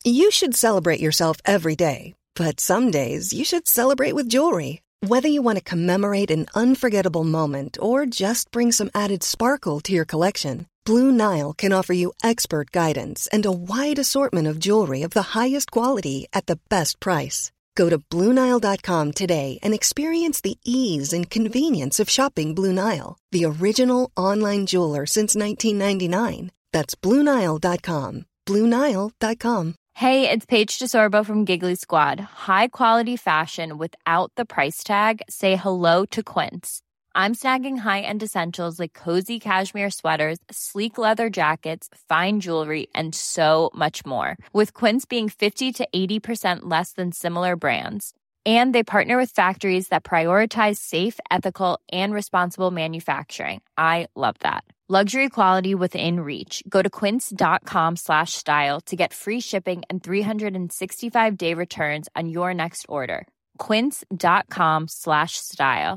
You should celebrate yourself every day, but some days you should celebrate with jewelry. Whether you want to commemorate an unforgettable moment or just bring some added sparkle to your collection, Blue Nile can offer you expert guidance and a wide assortment of jewelry of the highest quality at the best price. Go to BlueNile.com today and experience the ease and convenience of shopping Blue Nile, the original online jeweler since 1999. That's BlueNile.com. BlueNile.com. Hey, it's Paige DeSorbo from Giggly Squad. High quality fashion without the price tag. Say hello to Quince. I'm snagging high-end essentials like cozy cashmere sweaters, sleek leather jackets, fine jewelry, and so much more. With Quince being 50 to 80% less than similar brands. And they partner with factories that prioritize safe, ethical, and responsible manufacturing. I love that. Luxury quality within reach. Go to quince.com/style to get free shipping and 365-day returns on your next order. Quince.com/style.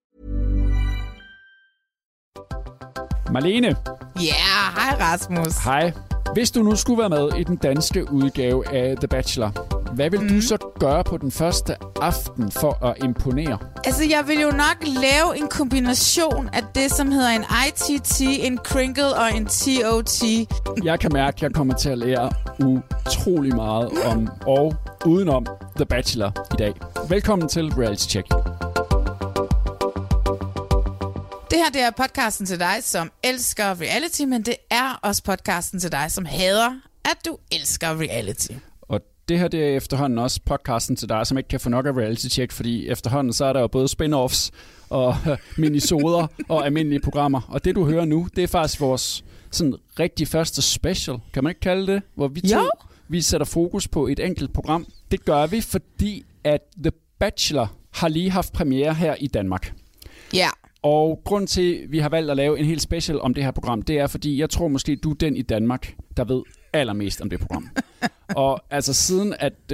Marlene. Ja, hej Rasmus. Hej. Hvis du nu skulle være med i den danske udgave af The Bachelor, hvad vil du så gøre på den første aften for at imponere? Altså, jeg vil jo nok lave en kombination af det, som hedder en ITT, en Kringle og en TOT. Jeg kan mærke, at jeg kommer til at lære utrolig meget om og udenom The Bachelor i dag. Velkommen til Reality Check. Det her, det er podcasten til dig, som elsker reality, men det er også podcasten til dig, som hader, at du elsker reality. Og det her, det er efterhånden også podcasten til dig, som ikke kan få nok af Reality Check, fordi efterhånden så er der jo både spin-offs og minisoder og almindelige programmer. Og det, du hører nu, det er faktisk vores sådan rigtig første special, kan man ikke kalde det? Hvor vi sætter fokus på et enkelt program. Det gør vi, fordi at The Bachelor har lige haft premiere her i Danmark. Ja. Og grund til, at vi har valgt at lave en helt special om det her program, det er, fordi jeg tror måske, du er den i Danmark, der ved allermest om det program. Og altså siden, at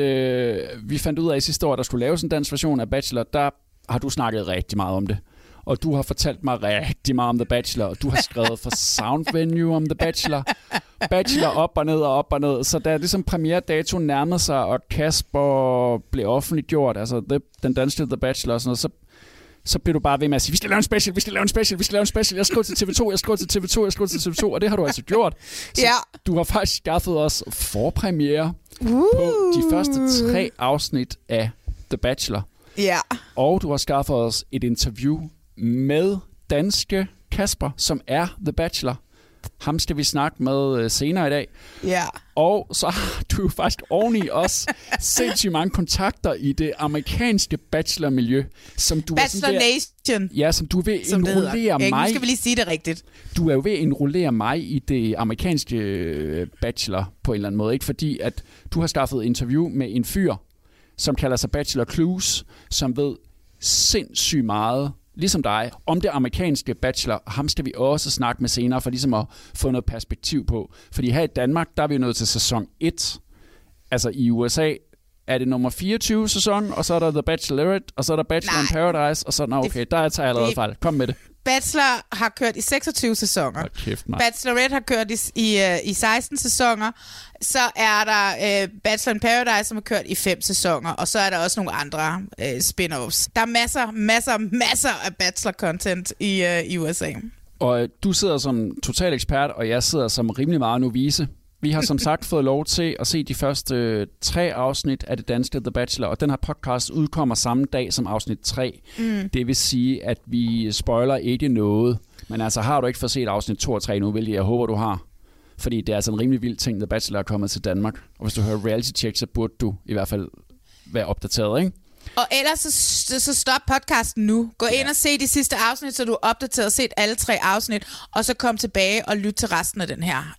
vi fandt ud af i sidste år, at der skulle laves en dansk version af Bachelor, der har du snakket rigtig meget om det. Og du har fortalt mig rigtig meget om The Bachelor, og du har skrevet for Sound Venue om The Bachelor. Bachelor op og ned og op og ned. Så da ligesom premieredatoen nærmede sig, og Kasper blev offentliggjort, altså den danske The Bachelor og sådan noget, så bliver du bare ved med at sige, vi skal lave en special, vi skal lave en special, vi skal lave en special. Jeg skriver til TV2, jeg skriver til TV2, jeg skriver til TV2, og det har du altså gjort. Så du har faktisk skaffet os forpremiere på de første 3 afsnit af The Bachelor. Ja. Og du har skaffet os et interview med danske Kasper, som er The Bachelor. Ham skal vi snakke med senere i dag. Ja. Og så har du jo faktisk oveni også sindssygt mange kontakter i det amerikanske bachelor-miljø. Som du Bachelor Nation. Ja, som du vil enrollere mig. Nu skal vi lige sige det rigtigt. Du er jo ved at enrollere mig i det amerikanske bachelor på en eller anden måde. Ikke? Fordi at du har skaffet interview med en fyr, som kalder sig Bachelor Clues, som ved sindssygt meget, ligesom dig, om det amerikanske Bachelor. Ham skal vi også snakke med senere, for ligesom at få noget perspektiv på. Fordi her i Danmark, der er vi nået til sæson 1. Altså i USA er det nummer 24 sæson, og så er der The Bachelorette, og så er der Bachelor in Paradise, og så okay, der tager jeg allerede fejl. Kom med det. Bachelor har kørt i 26 sæsoner. Kæft, Bachelorette har kørt i 16 sæsoner. Så er der Bachelor in Paradise, som har kørt i 5 sæsoner. Og så er der også nogle andre spin-offs. Der er masser af Bachelor-content i USA. Og du sidder som total ekspert, og jeg sidder som rimelig meget novice. Vi har som sagt fået lov til at se de første 3 afsnit af det danske The Bachelor, og den her podcast udkommer samme dag som afsnit 3. Det vil sige, at vi spoiler ikke noget. Men altså, har du ikke fået set afsnit 2 og 3 nu, hvilket jeg håber, du har. Fordi det er altså en rimelig vild ting, The Bachelor er kommet til Danmark. Og hvis du hører Reality Check, så burde du i hvert fald være opdateret, ikke? Og ellers så stop podcasten nu. Gå ind og se de sidste afsnit, så du er opdateret og set alle 3 afsnit, og så kom tilbage og lyt til resten af den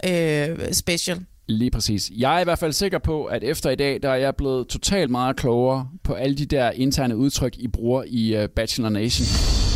her special. Lige præcis. Jeg er i hvert fald sikker på, at efter i dag, der er jeg blevet totalt meget klogere på alle de der interne udtryk, I bruger i Bachelor Nation.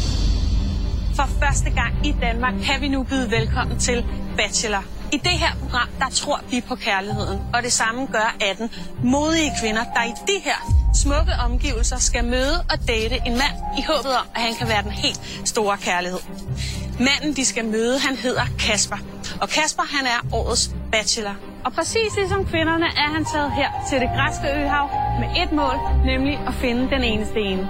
For første gang i Danmark kan vi nu byde velkommen til Bachelor. I det her program, der tror vi på kærligheden, og det samme gør 18 modige kvinder, der i de her smukke omgivelser skal møde og date en mand i håbet om, at han kan være den helt store kærlighed. Manden, de skal møde, han hedder Kasper. Og Kasper, han er årets bachelor. Og præcis ligesom kvinderne er han taget her til det græske øhav med et mål, nemlig at finde den eneste ene.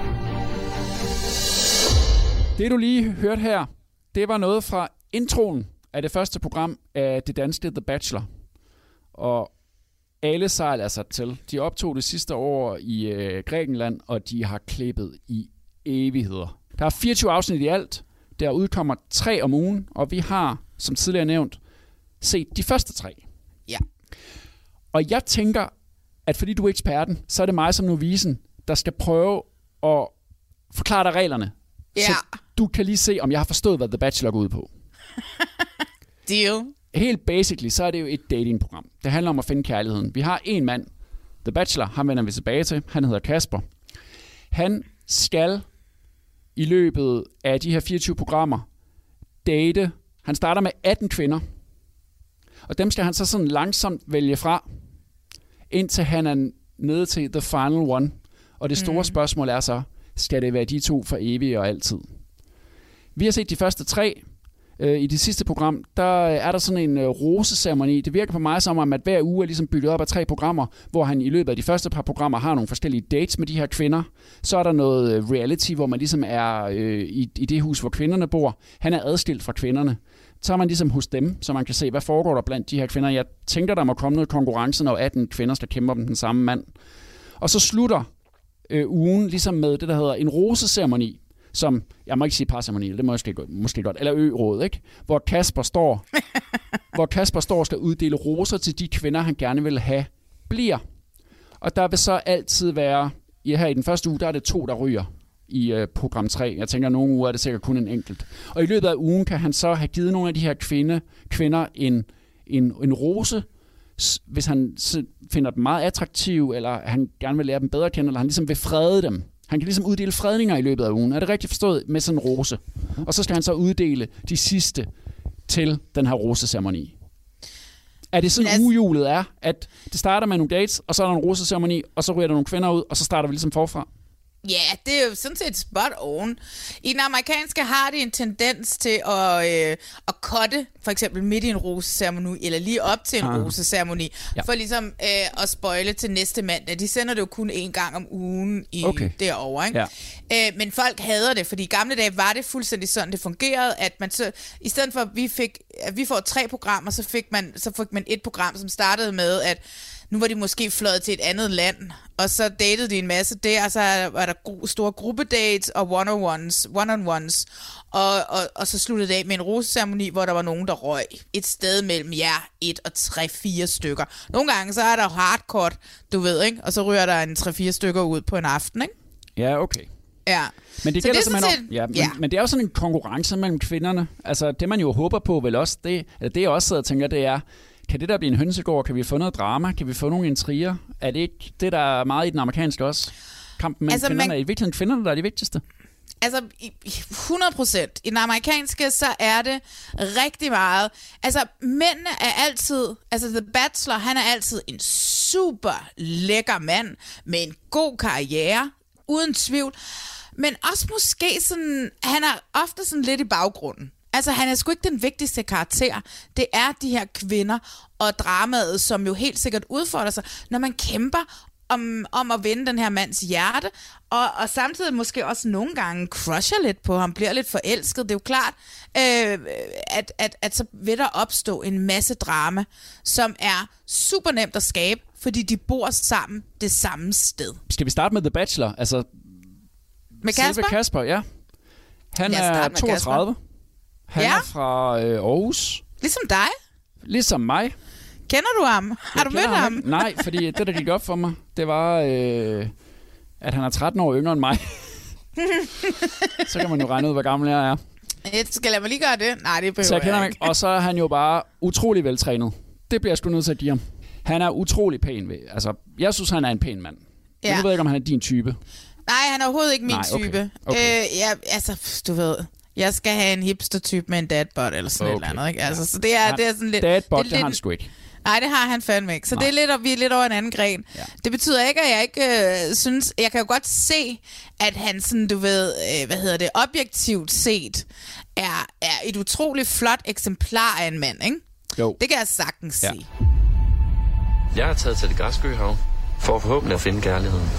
Det du lige hørte her, det var noget fra introen af det første program af det danske The Bachelor. Og alle sejl er sat til. De optog det sidste år i Grækenland, og de har klippet i evigheder. Der er 24 afsnit i alt. Der udkommer 3 om ugen, og vi har, som tidligere nævnt, set de første 3. Ja. Og jeg tænker, at fordi du er eksperten, så er det mig som novisen, der skal prøve at forklare dig reglerne. Ja. Så du kan lige se, om jeg har forstået, hvad The Bachelor går ud på. Deal. Helt basically, så er det jo et datingprogram. Det handler om at finde kærligheden. Vi har en mand, The Bachelor, ham vender vi tilbage til. Han hedder Kasper. Han skal i løbet af de her 24 programmer date. Han starter med 18 kvinder. Og dem skal han så sådan langsomt vælge fra, indtil han er nede til the final one. Og det store spørgsmål er så, skal det være de 2 for evigt og altid? Vi har set de første 3. I det sidste program, der er der sådan en roseceremoni. Det virker på mig som om, at hver uge er ligesom bygget op af 3 programmer, hvor han i løbet af de første par programmer har nogle forskellige dates med de her kvinder. Så er der noget reality, hvor man ligesom er i det hus, hvor kvinderne bor. Han er adskilt fra kvinderne. Så er man ligesom hos dem, så man kan se, hvad foregår der blandt de her kvinder. Jeg tænker, der må komme noget konkurrence, når 18 kvinder skal kæmpe om den samme mand. Og så slutter ugen ligesom med det, der hedder en roseceremoni, som, jeg må ikke sige parceremoni, det må jeg måske godt, eller ø-råd, ikke? Hvor Kasper står og skal uddele roser til de kvinder, han gerne vil have bliver. Og der vil så altid være, her i den første uge, der er det 2, der ryger i program 3. Jeg tænker, at nogle uger er det sikkert kun en enkelt. Og i løbet af ugen kan han så have givet nogle af de her kvinder en rose, hvis han finder dem meget attraktive, eller han gerne vil lære dem bedre at kende, eller han ligesom vil frede dem. Han kan ligesom uddele fredninger i løbet af ugen. Er det rigtigt forstået? Med sådan en rose. Og så skal han så uddele de sidste til den her roseceremoni. Er det sådan ugehjulet er, at det starter med nogle dates, og så er der en roseceremoni, og så ryger der nogle kvinder ud, og så starter vi ligesom forfra? Ja, det er jo sådan set spot on. I den amerikanske har de en tendens til at cutte, for eksempel midt i en roseceremoni, eller lige op til en roseceremoni, for ligesom at spoile til næste mandag. De sender det jo kun 1 gang om ugen derovre, ikke? Ja. Men folk hader det, fordi i gamle dage var det fuldstændig sådan, det fungerede, at man så, i stedet for at vi får 3 programmer, så fik man et program, som startede med, at nu var de måske fløjet til et andet land, og så datede de en masse der, og så var der store gruppedates og one-on-ones, og så sluttede det af med en roseceremoni, hvor der var nogen, der røg et sted mellem 1 og 3-4 stykker. Nogle gange så er der hardcore, du ved, ikke? Og så ryger der en 3-4 stykker ud på en aften, ikke? Ja, okay. Ja. Men det gælder simpelthen men det er jo sådan en konkurrence mellem kvinderne. Altså det man jo håber på vel også, det jeg også sidder og tænker, det er, kan det der blive en hønsegård? Kan vi få noget drama? Kan vi få nogle intriger? Er det ikke det, der er meget i den amerikanske også? Kampen mellem kvinderne. Er i virkeligheden kvinderne, der er det vigtigste? Altså 100%. I den amerikanske, så er det rigtig meget. Altså mændene er altid, altså The Bachelor, han er altid en super lækker mand med en god karriere, uden tvivl. Men også måske sådan, han er ofte sådan lidt i baggrunden. Altså, han er sgu ikke den vigtigste karakter. Det er de her kvinder og dramaet, som jo helt sikkert udfordrer sig, når man kæmper om at vinde den her mands hjerte, og samtidig måske også nogle gange crusher lidt på ham, bliver lidt forelsket. Det er jo klart, at så vil der opstå en masse drama, som er super nemt at skabe, fordi de bor sammen det samme sted. Skal vi starte med The Bachelor? Altså, med Kasper? Kasper, ja. Han er 32. Han er fra Aarhus. Ligesom dig? Ligesom mig. Kender du ham? Har du mødt ham? Nej, fordi det, der gik op for mig, det var, at han er 13 år yngre end mig. Så kan man jo regne ud, hvor gammel jeg er. Skal jeg lige gøre det? Nej, det behøver så jeg kender ikke. Og så er han jo bare utrolig veltrænet. Det bliver jeg sgu nødt til at give ham. Han er utrolig pæn. Altså, jeg synes, han er en pæn mand. Ja. Men nu ved jeg ikke, om han er din type. Nej, han er overhovedet ikke min type. Okay. Altså, du ved... Jeg skal have en hipster-type med en dadbot eller sådan et eller andet, ikke? Altså, så det er sådan lidt... Dadbot, det har han sgu ikke. Nej, det har han fandme ikke. Så det er lidt, vi er lidt over en anden gren. Ja. Det betyder ikke, at jeg ikke synes... Jeg kan jo godt se, at han sådan, du ved... objektivt set er et utroligt flot eksemplar af en mand, ikke? Jo. Det kan jeg sagtens sige. Jeg er taget til det græske øhav for forhåbentlig at finde kærligheden.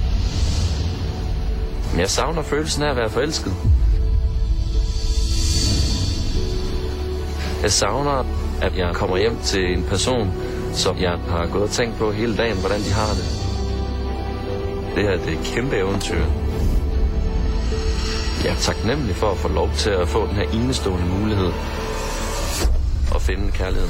Men jeg savner følelsen af at være forelsket. Jeg savner, at jeg kommer hjem til en person, som jeg har gået og tænkt på hele dagen, hvordan de har det. Det her, det er et kæmpe eventyr. Jeg er taknemmelig for at få lov til at få den her enestående mulighed at finde kærlighed.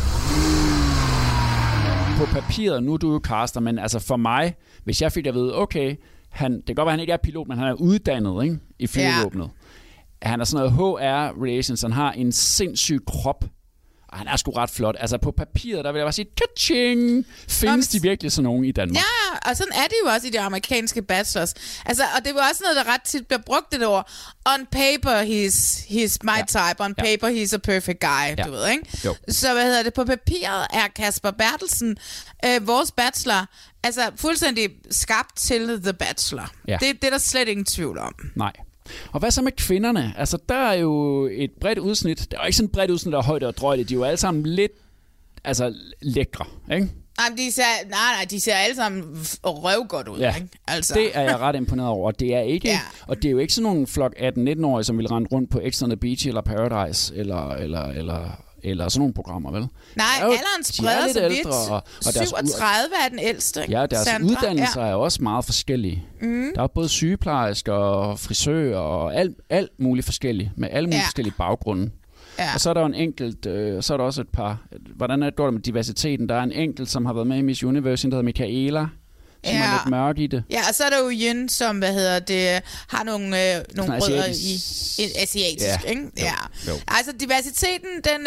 På papiret, nu er du jo caster, men altså for mig, hvis jeg fik at vide, okay, det kan godt være, han ikke er pilot, men han er uddannet, ikke, i flyvåbnet. Ja. Han er sådan noget HR-relations, han har en sindssyg krop, og han er sgu ret flot. Altså på papiret, der vil jeg bare sige, ka-ching! Findes de virkelig sådan nogen i Danmark? Ja, og sådan er det jo også i de amerikanske bachelors. Altså, og det var også noget, der ret tit bliver brugt det ord. On paper, he's my type. On paper, he's a perfect guy. Du ved, ikke? Jo. Så hvad hedder det? På papiret er Kasper Bertelsen, vores bachelor, altså fuldstændig skabt til The Bachelor. Ja. Det er der slet ingen tvivl om. Nej. Og hvad så med kvinderne? Altså, der er jo et bredt udsnit. Der er jo ikke sådan et bredt udsnit, der er højt og drøjt. De er jo alle sammen lidt lækre, ikke? Nej, de ser alle sammen røvgodt ud, ikke? Altså. Det er jeg ret imponeret over. Det er ikke, og det er jo ikke sådan nogle flok 18-19-årige, som vil rende rundt på X on the Beach eller Paradise eller sådan nogle programmer, vel? Nej, alderen spreder sig vidt. Og 37 er den ældste. Ja, deres uddannelser er også meget forskellige. Der er både sygeplejersker og frisører og alt muligt forskellige, med alle mulige forskellige baggrunde. Ja. Og så er der jo en enkelt, så er der også et par, hvordan går det med diversiteten? Der er en enkelt, som har været med i Miss Universe, der hedder Michaela, som er lidt mørk i det. Ja, og så er der jo Yin, som, har nogle rødder i asiatisk, ikke? Jo. Altså, diversiteten, den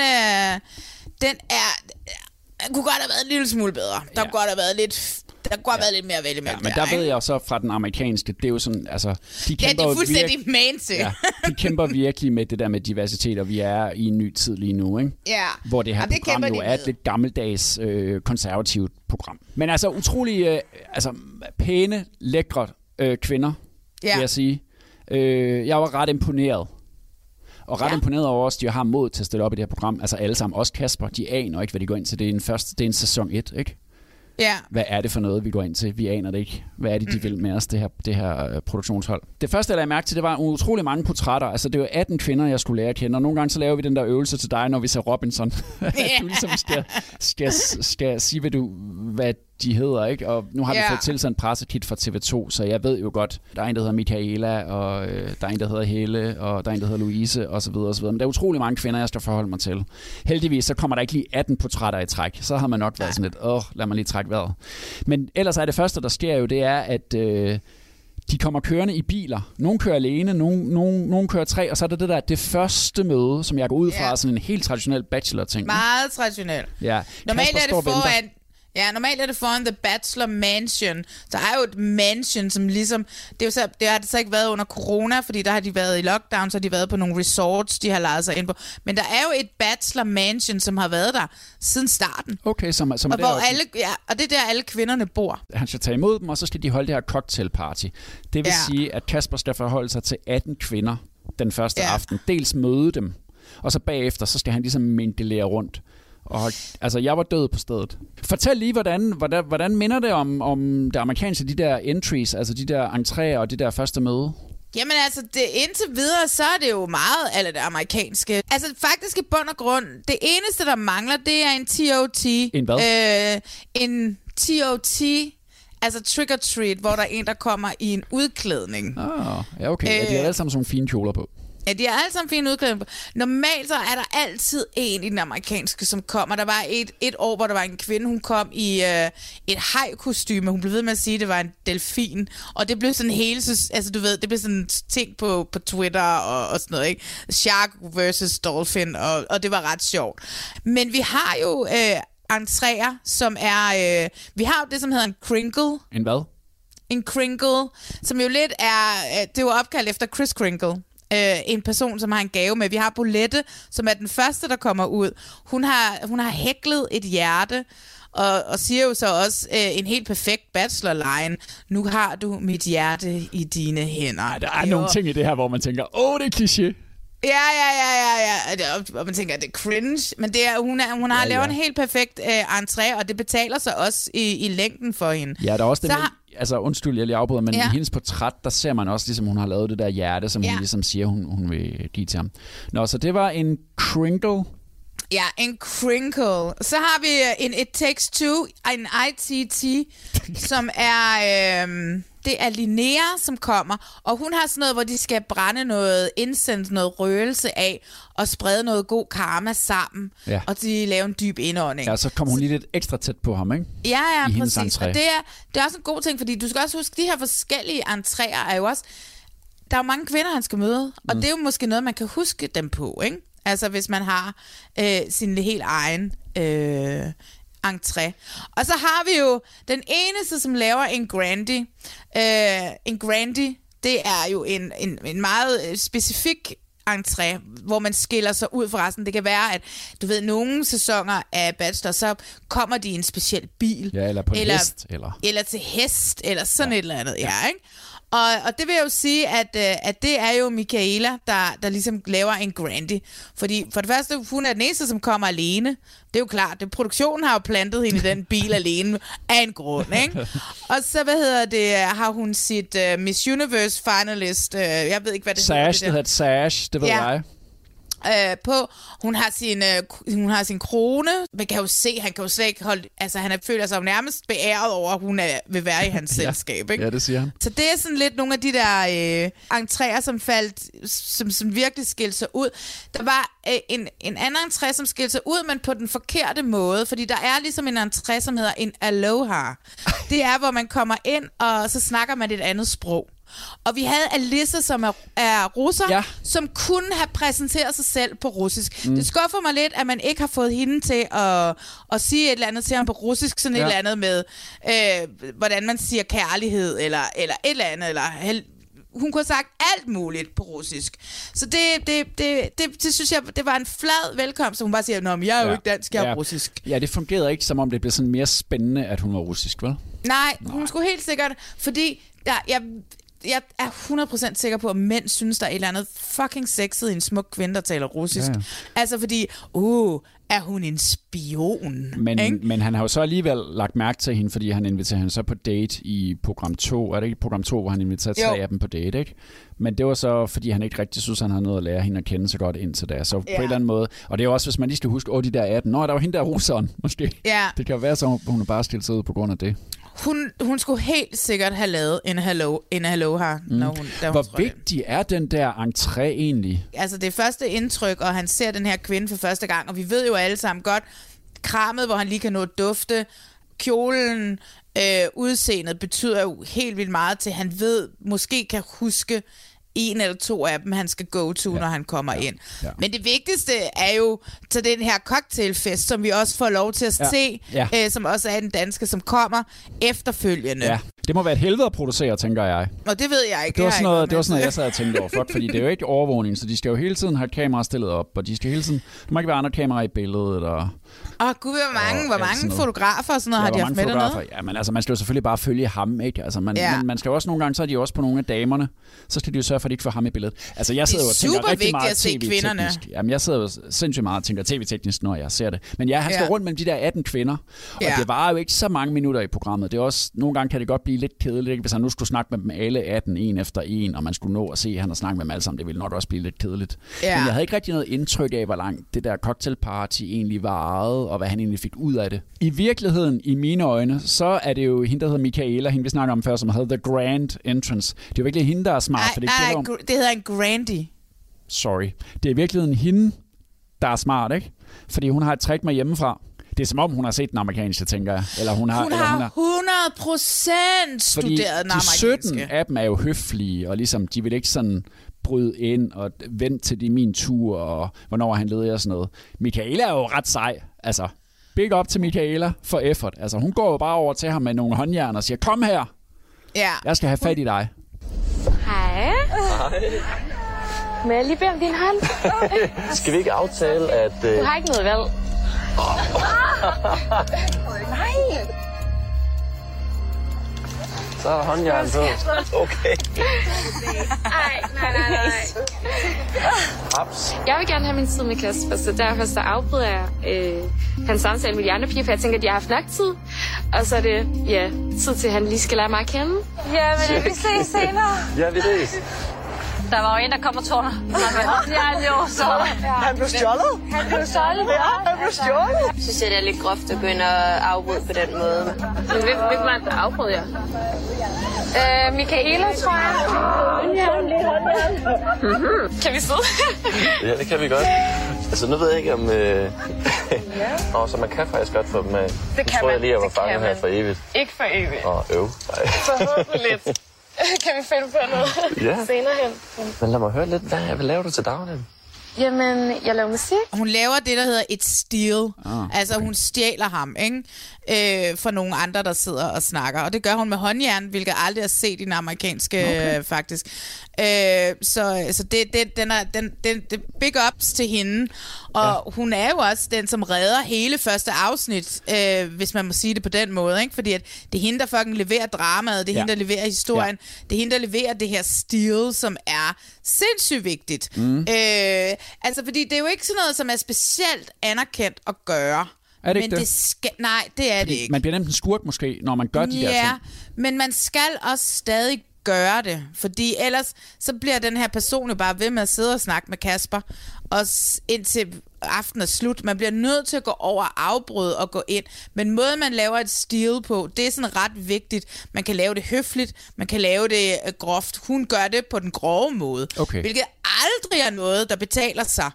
kunne godt have været en lille smule bedre. Der kunne godt have været lidt... Der kunne have været lidt mere at vælge med. Men der ved jeg så fra den amerikanske, det er jo sådan, altså... De kæmper det er fuldstændig man til. Ja, de kæmper virkelig med det der med diversitet, og vi er i en ny tid lige nu, ikke? Ja. Hvor det her program jo er et lidt gammeldags konservativt program. Men altså utrolig pæne, lækre kvinder, vil jeg sige. Jeg var ret imponeret. Og ret imponeret over os, de har mod til at stille op i det her program. Altså alle sammen, også Kasper, de aner ikke, hvad de går ind til. Det er en sæson 1, ikke? Ja. Hvad er det for noget, vi går ind til? Vi aner det ikke. Hvad er det, de vil med os, det her produktionshold? Det første, jeg lagde mærke til, det var utrolig mange portrætter. Altså, det var 18 kvinder, jeg skulle lære at kende. Og nogle gange så laver vi den der øvelse til dig, når vi ser Robinson. Du ligesom skal sige, hvad de hedder, ikke? Og nu har vi fået tilsendt pressekit fra TV2, så jeg ved jo godt, der er en, der hedder Michaela, og der er en, der hedder Helle, og der er en, der hedder Louise, og så videre, og så videre. Men der er utrolig mange kvinder, jeg skal forholde mig til. Heldigvis, så kommer der ikke lige 18 portrætter i træk. Så har man nok været sådan lidt, lad mig lige trække vejret. Men ellers er det første, der sker jo, det er, at de kommer kørende i biler. Nogle kører alene, nogle kører 3, og så er det første møde, som jeg går ud fra, sådan en helt traditionel bachelor-ting. Meget traditionel. Ja. Normalt normalt er det foran The Bachelor Mansion. Der er jo et mansion, som ligesom... Det har det så ikke været under corona, fordi der har de været i lockdown, så har de været på nogle resorts, de har lejet sig ind på. Men der er jo et Bachelor Mansion, som har været der siden starten. Okay, som og hvor og det er der, alle kvinderne bor. Han skal tage imod dem, og så skal de holde det her cocktailparty. Det vil sige, at Kasper skal forholde sig til 18 kvinder den første aften. Dels møde dem, og så bagefter, så skal han ligesom mingelere rundt. Og altså, jeg var død på stedet. Fortæl lige, hvordan minder det om det amerikanske, de der entries, altså de der entréer og det der første møde? Jamen altså, indtil videre, så er det jo meget af det amerikanske. Altså faktisk i bund og grund, det eneste, der mangler, det er en TOT. En hvad? En TOT, altså trick or treat, hvor der er en, der kommer i en udklædning. Ja, okay. De har alle sammen sådan fine kjoler på. Ja, de har alle sammen fine udklædning. Normalt så er der altid en i den amerikanske, som kommer. Der var et år, hvor der var en kvinde, hun kom i et haj-kostyme. Hun blev ved med at sige, at det var en delfin. Og det blev sådan hele, altså du ved, det blev sådan en ting på Twitter og sådan noget, ikke? Shark versus dolphin, og det var ret sjovt. Men vi har jo entréer, som er... vi har jo det, som hedder en Kringle. En hvad? En Kringle, som jo lidt er... det er jo opkaldt efter Kris Kringle. En person, som har en gave med. Vi har Bolette, som er den første, der kommer ud. Hun har hæklet et hjerte, og siger jo så også en helt perfekt bachelor-line. Nu har du mit hjerte i dine hænder. Der er nogle ting i det her, hvor man tænker, det er kliché. Ja. Og man tænker, at det er cringe, men det er, hun har lavet en helt perfekt entré, og det betaler sig også i længden for hende. Ja, der er også altså undskyld, jeg lige afbryder, men i hendes portræt, der ser man også, ligesom hun har lavet det der hjerte, som hun ligesom siger, hun vil give til ham. Nå, så det var en crinkle. Ja, en crinkle. Så har vi en It Takes Two, en ITT, som er... det er Linnea, som kommer, og hun har sådan noget, hvor de skal brænde noget incense, noget røgelse af, og sprede noget god karma sammen, og de laver en dyb indånding. Ja, så kommer hun lige lidt ekstra tæt på ham, ikke? Ja, præcis. Og det er også en god ting, fordi du skal også huske, de her forskellige entréer er jo også... Der er jo mange kvinder, han skal møde, og det er jo måske noget, man kan huske dem på, ikke? Altså, hvis man har sin helt egen entré. Og så har vi jo den eneste, som laver en grandie. En grandie, det er jo en meget specifik entré, hvor man skiller sig ud fra resten. Det kan være, at du ved, nogle sæsoner af Bachelor, så kommer de i en speciel bil. Ja, eller på en hest. Eller til hest, eller sådan et eller andet. Ja, ikke? Og det vil jeg jo sige, at det er jo Michaela, der ligesom laver en grandie. Fordi for det første, hun er den eneste, som kommer alene. Det er jo klart, produktionen har jo plantet hende i den bil alene af en grund, ikke? Og så, har hun sit Miss Universe finalist, jeg ved ikke, hvad det hedder. Det hedder Sash, det ved jeg. På. Hun har sin krone. Man kan jo se, han kan jo slet ikke holde... Altså, han føler sig jo nærmest beæret over, at hun vil være i hans selskab, ikke? Ja, det siger han. Så det er sådan lidt nogle af de der entréer, som virkelig skilte sig ud. Der var en anden entré, som skilte sig ud, men på den forkerte måde, fordi der er ligesom en entré, som hedder en aloha. Det er, hvor man kommer ind, og så snakker man et andet sprog. Og vi havde Alyssa, som er russer, som kunne have præsenteret sig selv på russisk. Det skuffer mig lidt, at man ikke har fået hende til at sige et eller andet til ham på russisk, sådan et eller andet med, hvordan man siger kærlighed, eller et eller andet, eller hun kunne have sagt alt muligt på russisk. Så det synes jeg, det var en flad velkomst, så hun bare siger, nå, men jeg er jo ikke dansk, jeg er russisk. Ja, det fungerede ikke, som om det blev sådan mere spændende, at hun var russisk, vel? Nej, hun skulle helt sikkert, fordi jeg er 100% sikker på, at mænd synes, der er et eller andet fucking sexet i en smuk kvinde, der taler russisk. Ja. Altså fordi, er hun en spion? Men han har jo så alligevel lagt mærke til hende, fordi han inviterer hende så på date i program 2. Er det ikke program 2, hvor han inviterer 3 af dem på date, ikke? Men det var så, fordi han ikke rigtig synes, han havde noget at lære hende at kende så godt indtil da. Så på en eller anden måde. Og det er jo også, hvis man lige skal huske, de der 18. Der var hende der russeren, måske. Ja. Det kan jo være så, hun er bare stilt sig ud på grund af det. Hun skulle helt sikkert have lavet en aloha, Hvor vigtig er den der entré egentlig? Altså det er første indtryk, og han ser den her kvinde for første gang, og vi ved jo alle sammen godt, krammet, hvor han lige kan nå at dufte, kjolen, udseendet betyder jo helt vildt meget til, han måske kan huske en eller to af dem, han skal go to, når han kommer ind. Ja. Men det vigtigste er jo til den her cocktailfest, som vi også får lov til at se, som også er den danske, som kommer efterfølgende. Ja. Det må være et helvede at producere, tænker jeg. Og det ved jeg ikke. Det var sådan noget, jeg sad og tænkte over. Fordi det er jo ikke overvågning, så de skal jo hele tiden have kameraer stillet op, og de skal hele tiden... Der må ikke være andre kameraer i billedet, og... Gud, hvor mange fotografer og sådan noget har de haft med dernede? Ja, men altså, man skal jo selvfølgelig bare følge ham, ikke? Altså, man skal jo også nogle gange, så er de også på nogle af damerne, så skal de jo sørge for, at de ikke får ham i billedet. Altså, jeg sidder jo og tænker rigtig meget tv-teknisk. Jamen, jeg sidder jo sindssygt meget og tænker tv-teknisk, når jeg ser det. Men han skal rundt mellem de der 18 kvinder, og det var jo ikke så mange minutter i programmet. Det er også, nogle gange kan det godt blive lidt kedeligt, ikke? Hvis han nu skulle snakke med dem alle 18, en efter en, og man skulle nå at se, at han har snakket med dem alle sammen, det ville nok også blive lidt kedeligt. Men jeg havde ikke rigtig noget indtryk af, hvor langt det der cocktailparty egentlig varede, og hvad han egentlig fik ud af det. I virkeligheden, i mine øjne, så er det jo hende, der hedder Michaela, hende vi snakker om før, som hedder The Grand Entrance. Det er jo virkelig hende, der er smart. Det hedder en grandie. Sorry. Det er i virkeligheden hende, der er smart, ikke? Fordi hun har et trick med hjemmefra. Det er som om, hun har set den amerikanske, tænker jeg. Eller hun har 100% studeret den amerikanske. De 17 af dem er jo høflige, og ligesom, de vil ikke sådan bryde ind og vente til det min tur, og hvornår han leder og sådan noget. Michaela er jo ret sej. Altså, big up til Michaela for effort. Altså, hun går jo bare over til ham med nogle håndjern og siger, kom her. Ja. Jeg skal have fat i dig. Hej. Må jeg lige bede om din hånd? Skal vi ikke aftale, at... Du har ikke noget valg. Så Der er håndjern på. Okay. Nej. Haps. Jeg vil gerne have min tid med Kasper, så derfor så afbryder jeg hans samtale med de andre piger, for jeg tænker, at de har haft nok tid. Og så er det, tid til, at han lige skal lære mig at kende. Ja, men vi ses senere. Ja, vi ses. Der var jo en, der kom og tog dig. Han blev stjålet? Han blev stjålet. Ja, han blev stjålet. Jeg synes, det er lidt groft at gå ind og afbryde på den måde. Men hvem var det, der afbrød jer? Michaela, tror jeg. Kan vi sidde? Ja, det kan vi godt. Altså, nu ved jeg ikke om... så man kan faktisk godt få dem af. Det kan tror jeg man. lige, jeg var fanget her for evigt. Ikke for evigt. Nej. Forhåbentlig. Kan vi finde på noget senere hen? Men lad mig høre lidt. Hvad laver du til daglig? Jamen, jeg laver musik. Hun laver det, der hedder et steal. Altså, hun stjæler ham, ikke? For nogle andre, der sidder og snakker. Og det gør hun med håndjern, hvilket jeg aldrig har set i den amerikanske, faktisk. Så det big ups til hende. Og hun er jo også den, som redder hele første afsnit, hvis man må sige det på den måde, ikke? Fordi at det er hende, der fucking leverer dramaet, det er hende, der leverer historien, det er hende, der leverer det her steal, som er sindssygt vigtigt. Altså, fordi det er jo ikke sådan noget, som er specielt anerkendt at gøre. Er det ikke det? Nej, det er det ikke. Man bliver nemt en skurk måske, når man gør de der ting. Ja, men man skal også stadig gøre det, fordi ellers så bliver den her person jo bare ved med at sidde og snakke med Kasper, og indtil aftenen er slut. Man bliver nødt til at gå over og afbryde og gå ind. Men måden, man laver et steal på, det er sådan ret vigtigt. Man kan lave det høfligt, man kan lave det groft. Hun gør det på den grove måde, hvilket aldrig er noget, der betaler sig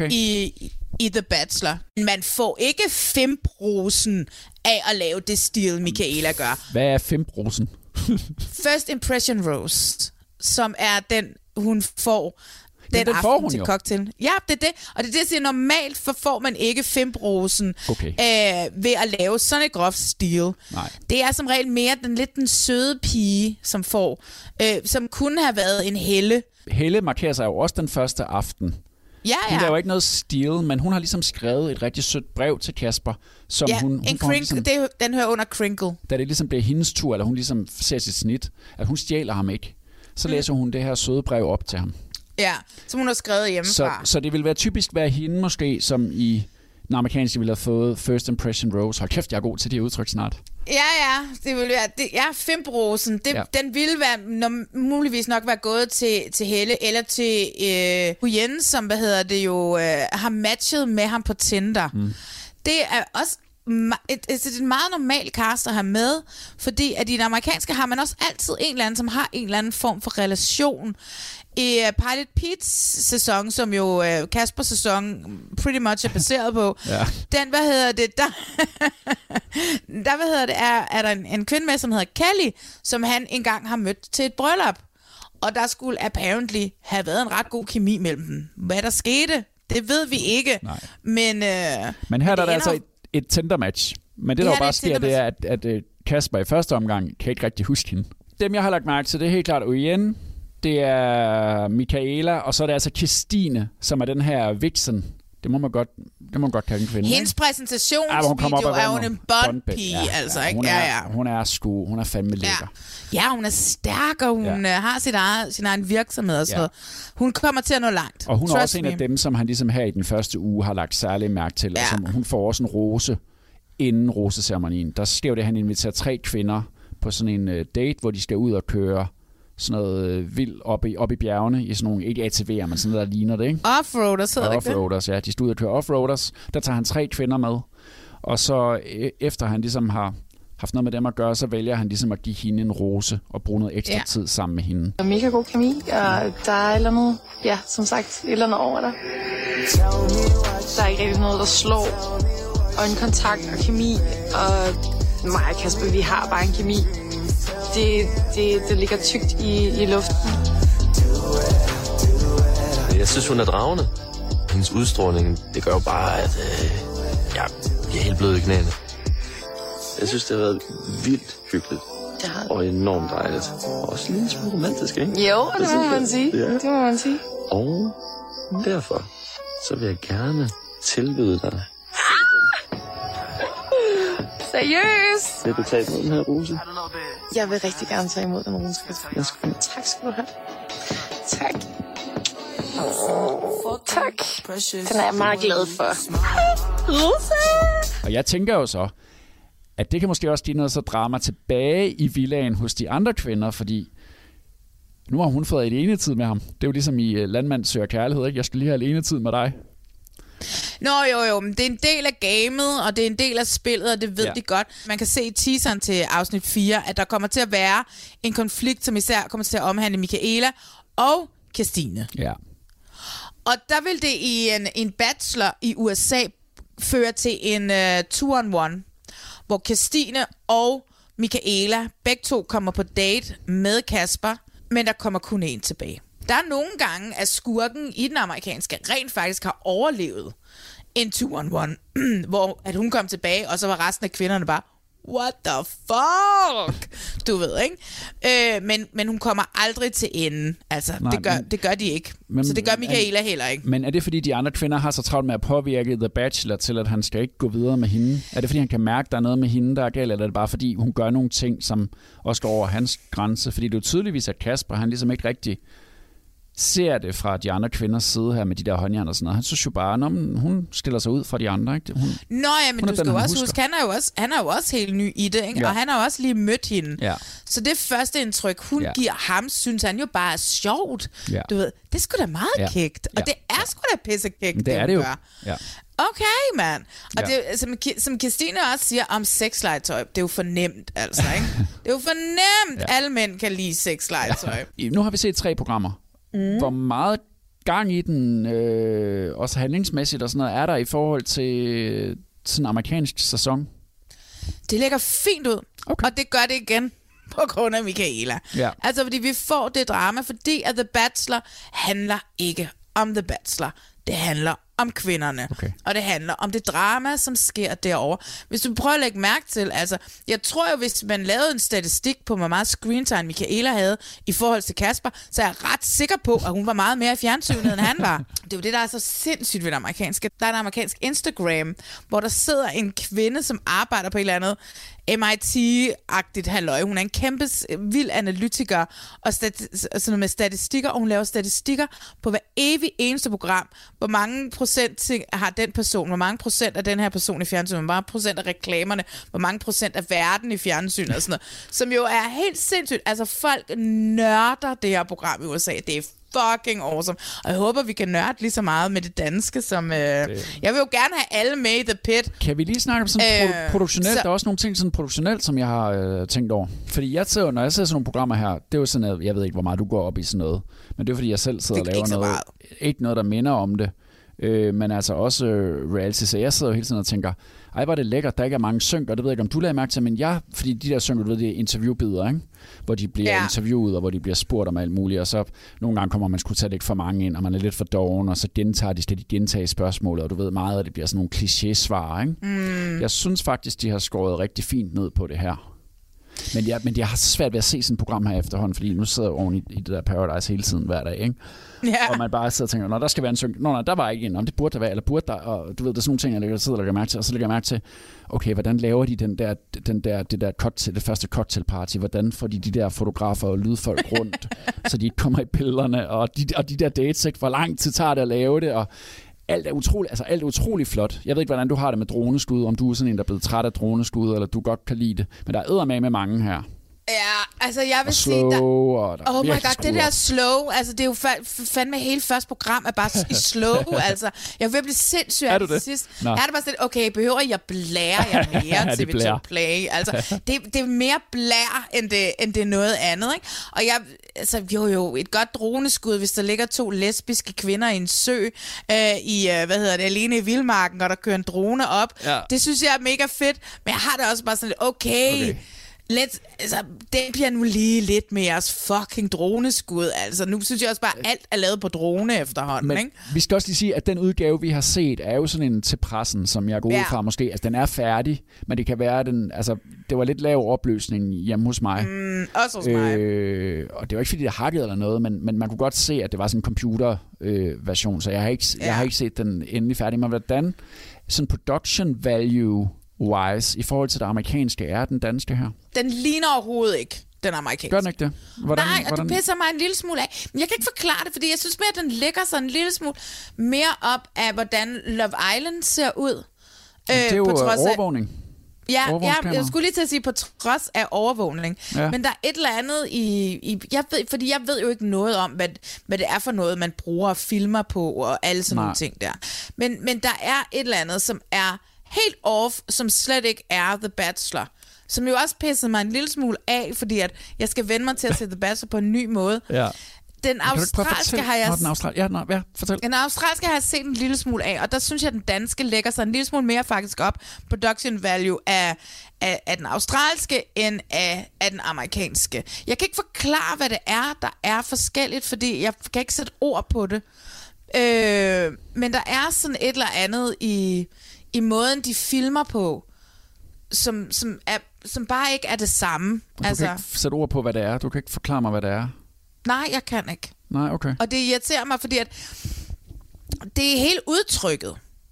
i The Bachelor. Man får ikke 5% af at lave det steal, Michaela gør. Hvad er 5%? First Impression Roast, som er den, hun får den aften til cocktail. Ja, det er det. Og det er det, jeg siger, normalt får man ikke 5% ved at lave sådan et groft steal. Nej. Det er som regel mere den søde pige, som får, som kunne have været en Helle. Helle markerer sig jo også den første aften. Ja. Hun laver ikke noget steal, men hun har ligesom skrevet et rigtig sødt brev til Kasper, som hun ligesom, den hører under Crinkle. Da det ligesom bliver hendes tur, eller hun ligesom ser sit snit, at hun stjæler ham ikke, så læser hun det her søde brev op til ham. Ja, som hun har skrevet hjemmefra. Så det vil være typisk være hende måske, som i den amerikanske ville have fået First Impression Rose. Hold kæft, jeg er god til det udtryk snart. Ja, det vil være 5%. Den ville være muligvis nok være gået til Helle eller til Huyen, som har matchet med ham på Tinder. Det er også det er en meget normal cast at have med, fordi at i den amerikanske har man også altid en eller anden, som har en eller anden form for relation. I Pilot Pete's sæson, som jo Kaspers sæson pretty much er baseret på, den, er der en kvinde med, som hedder Kelly, som han engang har mødt til et bryllup. Og der skulle apparently have været en ret god kemi mellem dem. Hvad der skete, det ved vi ikke. Nej. Men her der er der altså et Tinder-match. Men det der jo bare sker, det er, at Kasper i første omgang kan ikke rigtig huske hende. Dem, jeg har lagt mærke til, det er helt klart Uyen, det er Michaela, og så er det altså Christine, som er den her vixen. Det må man godt kalde en kvinde. Hendes præsentationsvideo er hun en bondpige, altså, ikke? Hun er fandme lækker. Ja, hun er stærk, og hun har sin egen virksomhed og sådan noget. Hun kommer til at nå langt. Og hun er også en af dem, som han ligesom her i den første uge har lagt særlig mærke til. Ja. Og hun får også en rose inden roseceremonien. Der sker jo det, at han inviterer 3 kvinder på sådan en date, hvor de skal ud og køre sådan noget vildt op i bjergene, i sådan nogle, ikke ATV'er, men sådan noget, der ligner det, ikke? Offroaders hedder det ikke det? Offroaders, ja. De stod ud og køre offroaders. Der tager han 3 kvinder med. Og så efter han ligesom har haft noget med dem at gøre, så vælger han ligesom at give hende en rose og bruge noget ekstra tid sammen med hende. Der er mega god kemi, og der er et eller andet, som sagt, et eller andet over der. Der er ikke rigtig noget, der slår. Og en kontakt og kemi, og mig og Kasper, vi har bare en kemi. Det ligger tykt i luften. Jeg synes, hun er dragende. Hendes udstråling, det gør jo bare, at jeg bliver helt blød i knæene. Jeg synes, det har været vildt hyggeligt. Og enormt dejligt. Og også en lille smule romantisk, ikke? Jo, det må man sige. Ja. Det må man sige. Og derfor, så vil jeg gerne tilbyde dig. Seriøst? Vil du tage imod den her rose? Jeg vil rigtig gerne tage imod den rose. Tak skal du have. Tak. Tak. Den er jeg meget glad for. Rose! Og jeg tænker jo så, at det kan måske også give noget så drama tilbage i villaen hos de andre kvinder, fordi nu har hun fået alenetid med ham. Det er jo ligesom i Landmand søger kærlighed, ikke? Jeg skal lige have alenetid med dig. Nå jo, men det er en del af gamet, og det er en del af spillet, og det ved de godt. Man kan se i teaseren til afsnit 4, at der kommer til at være en konflikt, som især kommer til at omhandle Michaela og Kirstine. Ja. Og der vil det i en bachelor i USA føre til en 2-on-1, hvor Kirstine og Michaela begge to kommer på date med Kasper, men der kommer kun én tilbage. Der er nogle gange, at skurken i den amerikanske rent faktisk har overlevet en 2-on-1, hvor at hun kom tilbage, og så var resten af kvinderne bare, what the fuck? Du ved, ikke? Men hun kommer aldrig til enden. Altså, nej, det gør de ikke. Så det gør Michaela heller ikke. Men er det, fordi de andre kvinder har så travlt med at påvirke The Bachelor til, at han skal ikke gå videre med hende? Er det, fordi han kan mærke, at der er noget med hende, der er galt, eller er det bare, fordi hun gør nogle ting, som også går over hans grænse? Fordi det er jo tydeligvis, at Kasper, han ligesom ikke rigtig ser det fra de andre kvinders side her med de der håndjern og sådan noget. Han synes jo bare, at hun stiller sig ud fra de andre, ikke? Men du skal jo også huske, han er jo også helt ny i det, ikke? Ja. Og han har også lige mødt hende. Ja. Så det første indtryk, hun giver ham, synes han jo bare er sjovt. Ja. Du ved, det er sgu da meget kægt. Og det er sgu da pissekægt, det er det jo. Ja. Okay, mand. Og det, som Kirstine også siger om sexlegetøj, det er jo fornemt, altså, ikke? Det er jo fornemt, alle mænd kan lide sexlegetøj. Ja. Nu har vi set 3 programmer. Hvor meget gang i den, også handlingsmæssigt og sådan noget, er der i forhold til sådan en amerikansk sæson? Det ligger fint ud, og det gør det igen på grund af Michaela. Ja. Altså, fordi vi får det drama, fordi at The Bachelor handler ikke om The Bachelor. Det handler om kvinderne. Okay. Og det handler om det drama, som sker derovre. Hvis du prøver at lægge mærke til, altså, jeg tror jo, hvis man lavede en statistik på, hvor meget screentime Michaela havde i forhold til Kasper, så er jeg ret sikker på, at hun var meget mere i fjernsynet, end han var. Det er jo det, der er så sindssygt ved det amerikanske. Der er en amerikansk Instagram, hvor der sidder en kvinde, som arbejder på et eller andet MIT-agtigt halløj. Hun er en kæmpe vild analytiker og sådan med statistikker, og hun laver statistikker på hver evig eneste program. Hvor mange procent har den person, hvor mange procent af den her person i fjernsynet, hvor mange procent af reklamerne, hvor mange procent af verden i fjernsynet og sådan noget. Som jo er helt sindssygt. Altså folk nørder det her program i USA. Det er fucking awesome. Og jeg håber, vi kan nørde lige så meget med det danske, som... Jeg vil jo gerne have alle med i The Pit. Kan vi lige snakke om sådan produktionelt? Der er også nogle ting sådan produktionelt, som jeg har tænkt over. Fordi når jeg ser sådan nogle programmer her, det er jo sådan, at jeg ved ikke, hvor meget du går op i sådan noget. Men det er fordi, jeg selv sidder og laver noget. Ikke noget, der minder om det. Men altså også reality. Så jeg sidder jo hele tiden og tænker, ej, hvor er det lækkert, der ikke er mange synk, og det ved jeg ikke, om du lagde mærke til, men fordi de der synk, du ved, det er interviewbilleder, ikke? Hvor de bliver interviewet, og hvor de bliver spurgt om alt muligt, og så nogle gange kommer man sgu tage lidt for mange ind, og man er lidt for doven, og så skal de gentage spørgsmålet, og du ved meget, at det bliver sådan nogle kliché-svar, ikke? Jeg synes faktisk, de har skåret rigtig fint ned på det her. Men jeg har svært ved at se sådan et program her efterhånden, fordi nu sidder jeg oven i det der Paradise hele tiden hver dag, ikke? Yeah. Og man bare sidder og tænker, nå, der skal være en synk. Nå, der var ikke en. Om det burde der være, eller burde der. Og du ved, der er sådan nogle ting, jeg sidder og lægger mærke til. Og så lægger jeg mærke til, okay, hvordan laver de det der cocktail, det første cocktailparty? Hvordan får de der fotografer og lydfolk rundt, så de ikke kommer i billederne? Og de der dates, ikke? Hvor lang tid tager det at lave det? Og alt er utroligt flot. Jeg ved ikke, hvordan du har det med droneskud, om du er sådan en, der er blevet træt af droneskud, eller du godt kan lide det. Men der er eddermame mange her. Ja, altså jeg vil sige, oh my god, det der slow, altså det er jo fandme hele første program er bare i slow, altså. Jeg vil blive sindssygt af det sidst. Her er det bare sådan, okay, behøver jeg blære jer mere TV2 Play? Altså, det er mere blær, end det er noget andet, ikke? Og et godt droneskud, hvis der ligger 2 lesbiske kvinder i en sø, alene i vildmarken, og der kører en drone op. Ja. Det synes jeg er mega fedt, men jeg har det også bare sådan lidt, okay. Den bliver nu lige lidt mere fucking droneskud. Altså, nu synes jeg også bare, at alt er lavet på drone efterhånden. Men ikke? Vi skal også lige sige, at den udgave, vi har set, er jo sådan en til pressen, som jeg går ud fra måske. Altså, den er færdig, men det kan være, det var lidt lav opløsning hjemme hos mig. Også hos mig. Og det var ikke, fordi det hakkede eller noget, men man kunne godt se, at det var sådan en computer-version, så jeg har ikke set den endelig færdig. Men hvordan sådan production value wise i forhold til det amerikanske, er den danske her? Den ligner overhovedet ikke den amerikanske. Gør den ikke det? Nej, og du pisser mig en lille smule af. Men jeg kan ikke forklare det, fordi jeg synes mere, at den lægger sig en lille smule mere op af, hvordan Love Island ser ud. Det er jo overvågning. Ja, jeg skulle lige til at sige på trods af overvågning. Ja. Men der er et eller andet fordi jeg ved jo ikke noget om, hvad det er for noget, man bruger og filmer på og alle sådan nogle ting der. Men der er et eller andet, som er helt off, som slet ikke er The Bachelor. Som jo også pissede mig en lille smule af, fordi at jeg skal vende mig til at se The Bachelor på en ny måde. Ja. Den australske har jeg... Den australske har jeg set en lille smule af, og der synes jeg, at den danske lægger sig en lille smule mere faktisk op production value af den australske end af den amerikanske. Jeg kan ikke forklare, hvad det er, der er forskelligt, fordi jeg kan ikke sætte ord på det. Men der er sådan et eller andet i måden, de filmer på, som bare ikke er det samme. Du kan ikke sætte ord på, hvad det er. Du kan ikke forklare mig, hvad det er. Nej, jeg kan ikke. Nej, okay. Og det irriterer mig, fordi at det er helt udtrykket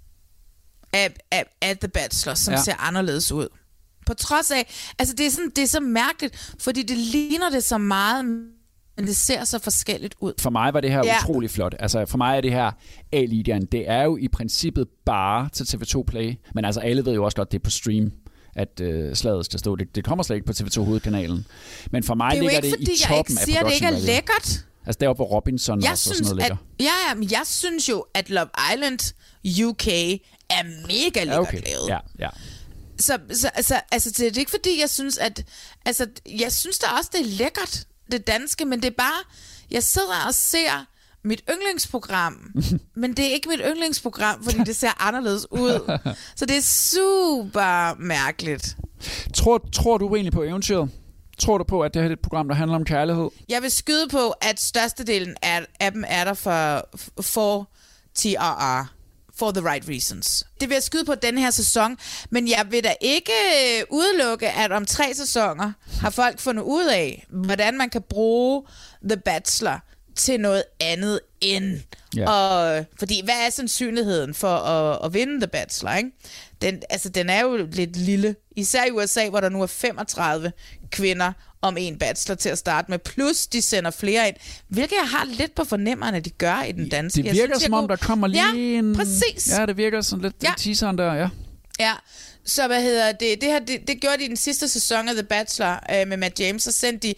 af The Bachelor, som ser anderledes ud. På trods af, altså det er så mærkeligt, fordi det ligner det så meget, men det ser så forskelligt ud. For mig var det her utrolig flot. Altså for mig er det her A-ligaen, det er jo i princippet bare til TV2 Play, men altså alle ved jo også godt, det er på stream, at slaget skal stå. Det kommer slet ikke på TV2 Hovedkanalen. Men for mig ligger det i toppen af production. Det er jo ikke, fordi jeg ikke siger, at det ikke er lækkert. Altså deroppe, hvor Robinson og sådan noget ligger. Men jeg synes jo, at Love Island UK er mega lækkert lavet. Ja. Så det er ikke fordi, jeg synes, at... Altså, jeg synes da også, det er lækkert, det danske, men det er bare... Jeg sidder og ser mit yndlingsprogram, men det er ikke mit yndlingsprogram, fordi det ser anderledes ud. Så det er super mærkeligt. Tror du egentlig på eventyret? Tror du på, at det her er et program, der handler om kærlighed? Jeg vil skyde på, at størstedelen af dem er der for TRR. For the right reasons. Det vil jeg skyde på den her sæson, men jeg vil da ikke udelukke, at om 3 sæsoner har folk fundet ud af, hvordan man kan bruge The Bachelor til noget andet end. Fordi hvad er sandsynligheden for at vinde The Bachelor, ikke? Den er jo lidt lille. Især i USA, hvor der nu er 35 kvinder om en bachelor til at starte med. Plus de sender flere ind. Hvilket jeg har lidt på fornemmerne, at de gør i den danske. Det virker som om, der kommer lige en... præcis. Ja, det virker sådan lidt teaseren der, ja. Ja, så hvad hedder det? Det gjorde de i den sidste sæson af The Bachelor med Matt James. Så sendte de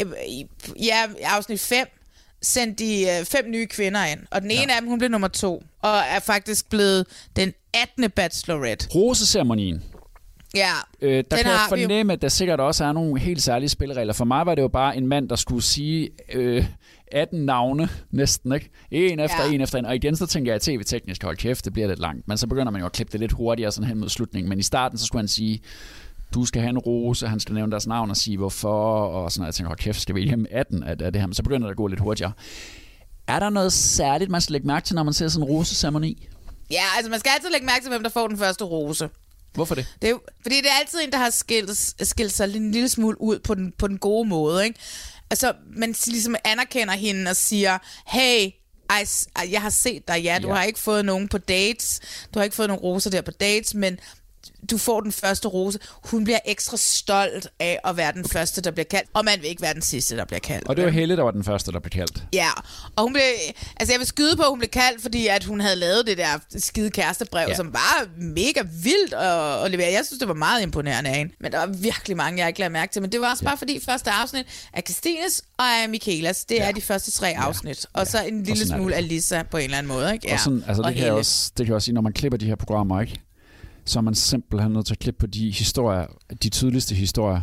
i afsnit 5 sendte de 5 nye kvinder ind. Og den ene af dem, hun blev nummer 2. Og er faktisk blevet den 18. bachelorette. Roseceremonien. Ja, der kan jeg fornemme, at der sikkert også er nogle helt særlige spilleregler. For mig var det jo bare en mand, der skulle sige 18 navne næsten, ikke? En efter en. Og igen, så tænker jeg, at tv-teknisk, hold kæft, det bliver lidt langt. Men så begynder man jo at klippe det lidt hurtigere sådan hen mod slutningen. Men i starten, så skulle han sige, du skal have en rose, han skal nævne deres navn og sige, hvorfor, og sådan noget. Jeg tænker, hold kæft, skal vi hjem 18 af det her? Men så begynder det at gå lidt hurtigere. Er der noget særligt, man skal lægge mærke til, når man ser sådan en roseceremoni? Ja, altså man skal altid lægge mærke til, hvem der får den første rose. Hvorfor det? Det er jo, fordi det er altid en, der har skilt sig en lille smule ud på den gode måde, ikke? Altså, man ligesom anerkender hende og siger, hey, jeg har set dig, du har ikke fået nogen på dates, du har ikke fået nogen roser der på dates, men du får den første rose. Hun bliver ekstra stolt af at være den første, der bliver kaldt, og man vil ikke være den sidste, der bliver kaldt. Og det var Helle, der var den første, der blev kaldt. Ja, og hun blev, altså jeg vil skyde på, at hun blev kaldt, fordi at hun havde lavet det der skide kærestebrev, som var mega vildt at levere. Jeg synes, det var meget imponerende af hende. Men der var virkelig mange, jeg ikke lagde mærke til. Men det var også bare fordi første afsnit af Christines og af Michaelas, det er de første 3 afsnit. Og så en lille smule af Lisa på en eller anden måde, ikke? Ja. Og sådan, altså det kan jeg også sige, når man klipper de her programmer, ikke? Så er man simpelthen nødt til at klippe på de historier, de tydeligste historier.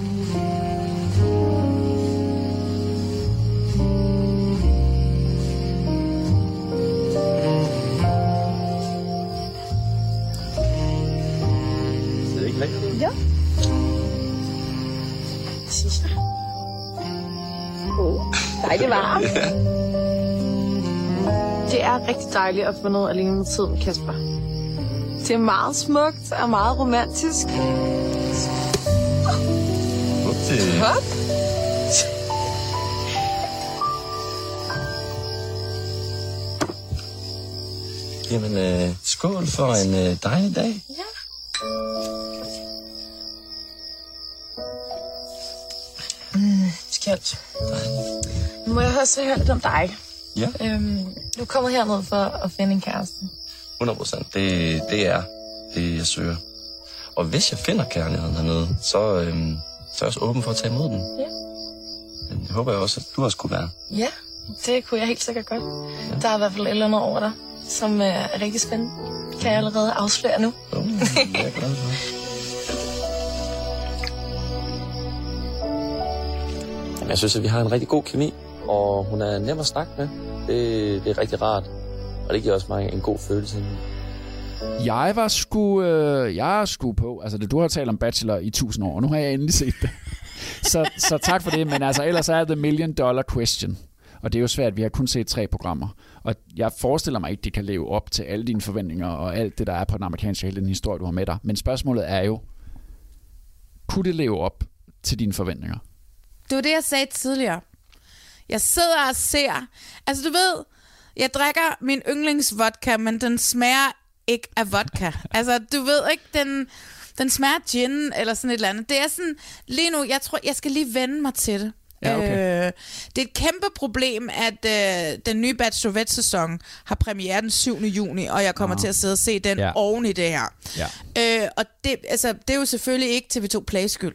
Det er ikke lækkert? Ja. Synes jeg. Dejligt varmt. Det er rigtig dejligt at få noget alene med tiden, Kasper. Det er meget smukt og meget romantisk. Hop. Jamen, skål for en dejlig dag. Ja. Skjønt. Nu må jeg også høre lidt om dig. Ja. Du er kommet herned for at finde en kæreste. 100%. Det er det, jeg søger. Og hvis jeg finder kærligheden hernede, så er jeg også åben for at tage imod den. Ja. Det håber jeg også, at du også kunne være. Ja, det kunne jeg helt sikkert godt. Ja. Der er i hvert fald et eller andet over dig, som er rigtig spændende. Kan jeg allerede afsløre nu. Jeg er glad for. Jamen, jeg synes, at vi har en rigtig god kemi, og hun er nem at snakke med. Det er rigtig rart, og det giver også mig en god følelse. Jeg er sgu på. Altså, du har talt om Bachelor i 1000 år, og nu har jeg endelig set det. Så tak for det, men altså ellers er det $1 million question. Og det er jo svært, vi har kun set 3 programmer. Og jeg forestiller mig ikke, de kan leve op til alle dine forventninger og alt det, der er på den amerikanske, hele den historie, du har med dig. Men spørgsmålet er jo, kunne det leve op til dine forventninger? Det var det, jeg sagde tidligere. Jeg sidder og ser. Altså, du ved, jeg drikker min yndlingsvodka, men den smager ikke af vodka. Altså, du ved ikke, den smager gin eller sådan et eller andet. Det er sådan, lige nu, jeg tror, jeg skal lige vende mig til det. Ja, okay. Det er et kæmpe problem, at den nye Bachelorette-sæson har premiere den 7. juni, og jeg kommer til at sidde og se den oven i det her. Ja. Og det er jo selvfølgelig ikke TV2 Play skyld.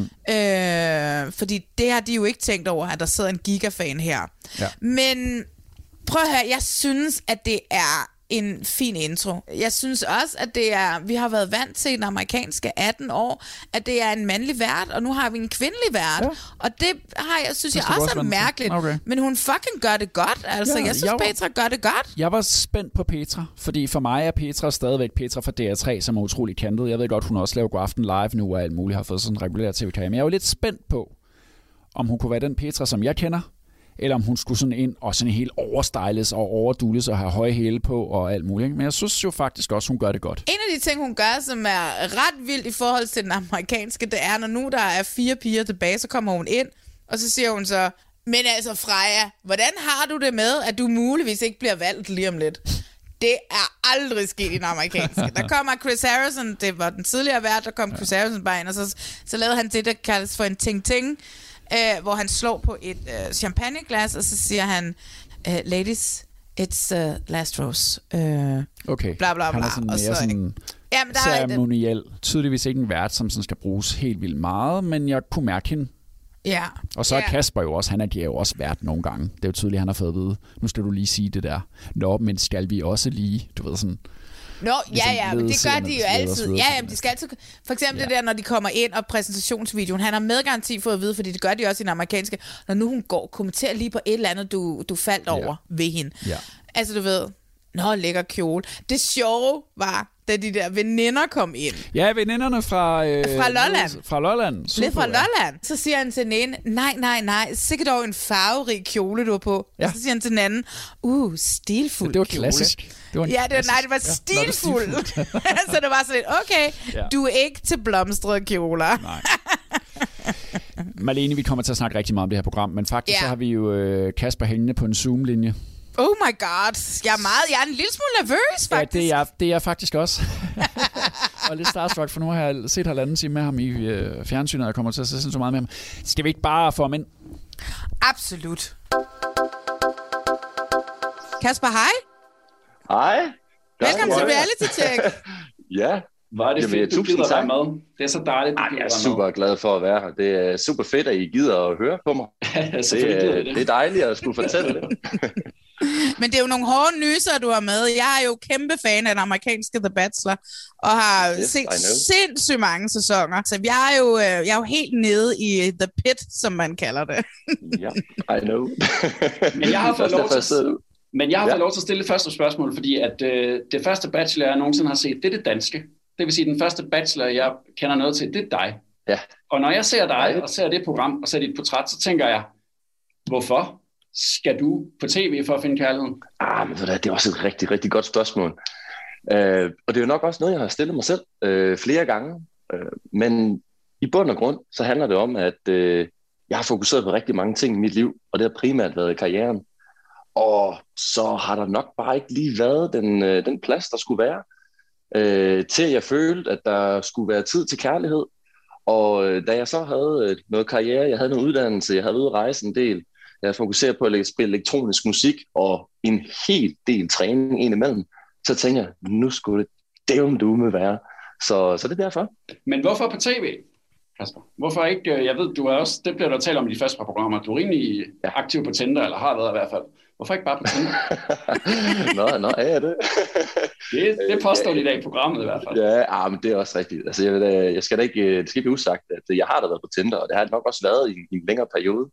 Fordi det har de jo ikke tænkt over, at der sidder en gigafan her. Ja. Men prøv at høre, jeg synes, at det er en fin intro. Jeg synes også, at vi har været vant til den amerikanske 18 år, at det er en mandlig vært, og nu har vi en kvindelig vært. Ja. Og det synes jeg også er mærkeligt. Okay. Men hun fucking gør det godt. Altså, jeg synes, Petra gør det godt. Jeg var spændt på Petra, fordi for mig er Petra stadigvæk Petra fra DR3, som er utrolig kantet. Jeg ved godt, hun også laver Godaften Live nu, og alt muligt har fået sådan en regulær tv-karriere. Men jeg var lidt spændt på, om hun kunne være den Petra, som jeg kender, eller om hun skulle sådan ind og sådan helt overstyles og overdules og have høje hæle på og alt muligt. Men jeg synes jo faktisk også, hun gør det godt. En af de ting, hun gør, som er ret vildt i forhold til den amerikanske, det er, når nu der er 4 piger tilbage, så kommer hun ind, og så siger hun så, men altså Freja, hvordan har du det med, at du muligvis ikke bliver valgt lige om lidt? Det er aldrig sket i den amerikanske. Der kommer Chris Harrison, det var den tidligere vært, der kom Chris Harrison bare ind, og så lavede han det, der kaldes for en ting-ting, hvor han slår på et champagneglas, og så siger han, ladies, it's last rose. Okay. Bla, bla, bla. Han er sådan mere sådan ceremoniel. Tydeligvis ikke en vært, som sådan skal bruges helt vildt meget, men jeg kunne mærke hende. Ja. Og så er Kasper jo også, han er jo også vært nogle gange. Det er jo tydeligt, han har fået at vide. Nu skal du lige sige det der. Nå, men skal vi også lige, du ved sådan... Nå, ja, men det gør de jo altid. Ja, de skal altid... For eksempel det der, når de kommer ind og præsentationsvideoen. Han har med garanti fået at vide, fordi det gør de også i den amerikanske. Når nu hun går, kommenterer lige på et eller andet, du faldt over ved hende. Ja. Altså, du ved... Nå, lækker kjole. Det sjove var, da de der veninder kom ind. Ja, veninderne fra Lolland. Fra Lolland. Super, lidt fra Lolland. Så siger han til den ene, nej, sikkert dog en farverig kjole, du har på. Ja. Og så siger han til den anden, stilfuld kjole. Det var klassisk. Det var stilfuld. Så det var sådan lidt, okay, du er ikke til blomstrede kjoler. Nej. Marlene, vi kommer til at snakke rigtig meget om det her program, men faktisk så har vi jo Kasper hængende på en Zoom-linje. Oh my god, jeg er en lille smule nervøs, faktisk. Ja, det er jeg faktisk også. Og lidt starstruck, for nu har jeg set 1,5 time med ham i fjernsynet, og jeg kommer til at se så meget med ham. Skal vi ikke bare få ham ind? Absolut. Kasper, hej. Hej. Velkommen til Reality Check. Ja. Var det fedt, du gider være med. Det er så dejligt, du jeg er super glad for at være her. Det er super fedt, at I gider at høre på mig. det er dejligt at skulle fortælle det. Men det er jo nogle hårde nyser, du har med. Jeg er jo kæmpe fan af den amerikanske The Bachelor, og har set sindssygt mange sæsoner. Så jeg er jo helt nede i The Pit, som man kalder det. Ja, I know. Men jeg har fået lov til at stille det første spørgsmål, fordi at det første Bachelor, jeg nogensinde har set, det er det danske. Det vil sige, den første Bachelor, jeg kender noget til, det er dig. Ja. Og når jeg ser dig, og ser det program, og ser dit portræt, så tænker jeg, hvorfor skal du på tv for at finde kærligheden? Men det er også et rigtig, rigtig godt spørgsmål. Og det er jo nok også noget, jeg har stillet mig selv flere gange. Men i bund og grund, så handler det om, at jeg har fokuseret på rigtig mange ting i mit liv, og det har primært været karrieren. Og så har der nok bare ikke lige været den plads, der skulle være. til jeg følte, at der skulle være tid til kærlighed. Og da jeg så havde noget karriere, jeg havde noget uddannelse, jeg havde ude at rejse en del, jeg havde fokuseret på at spille elektronisk musik og en hel del træning indimellem, så tænkte jeg, nu skulle det dævn dume være. Så det er derfor. Men hvorfor på tv, Kasper? Hvorfor ikke, jeg ved, du er også, det bliver der talt om i de første par programmer, du er rimelig aktiv på Tinder, eller har været i hvert fald. Hvorfor ikke bare på Tinder? Nå, er jeg det? det påstår de i dag i programmet i hvert fald. Ja, men det er også rigtigt. Altså, jeg skal da ikke, det skal blive usagt, at jeg har da været på Tinder, og det har nok også været i en længere periode.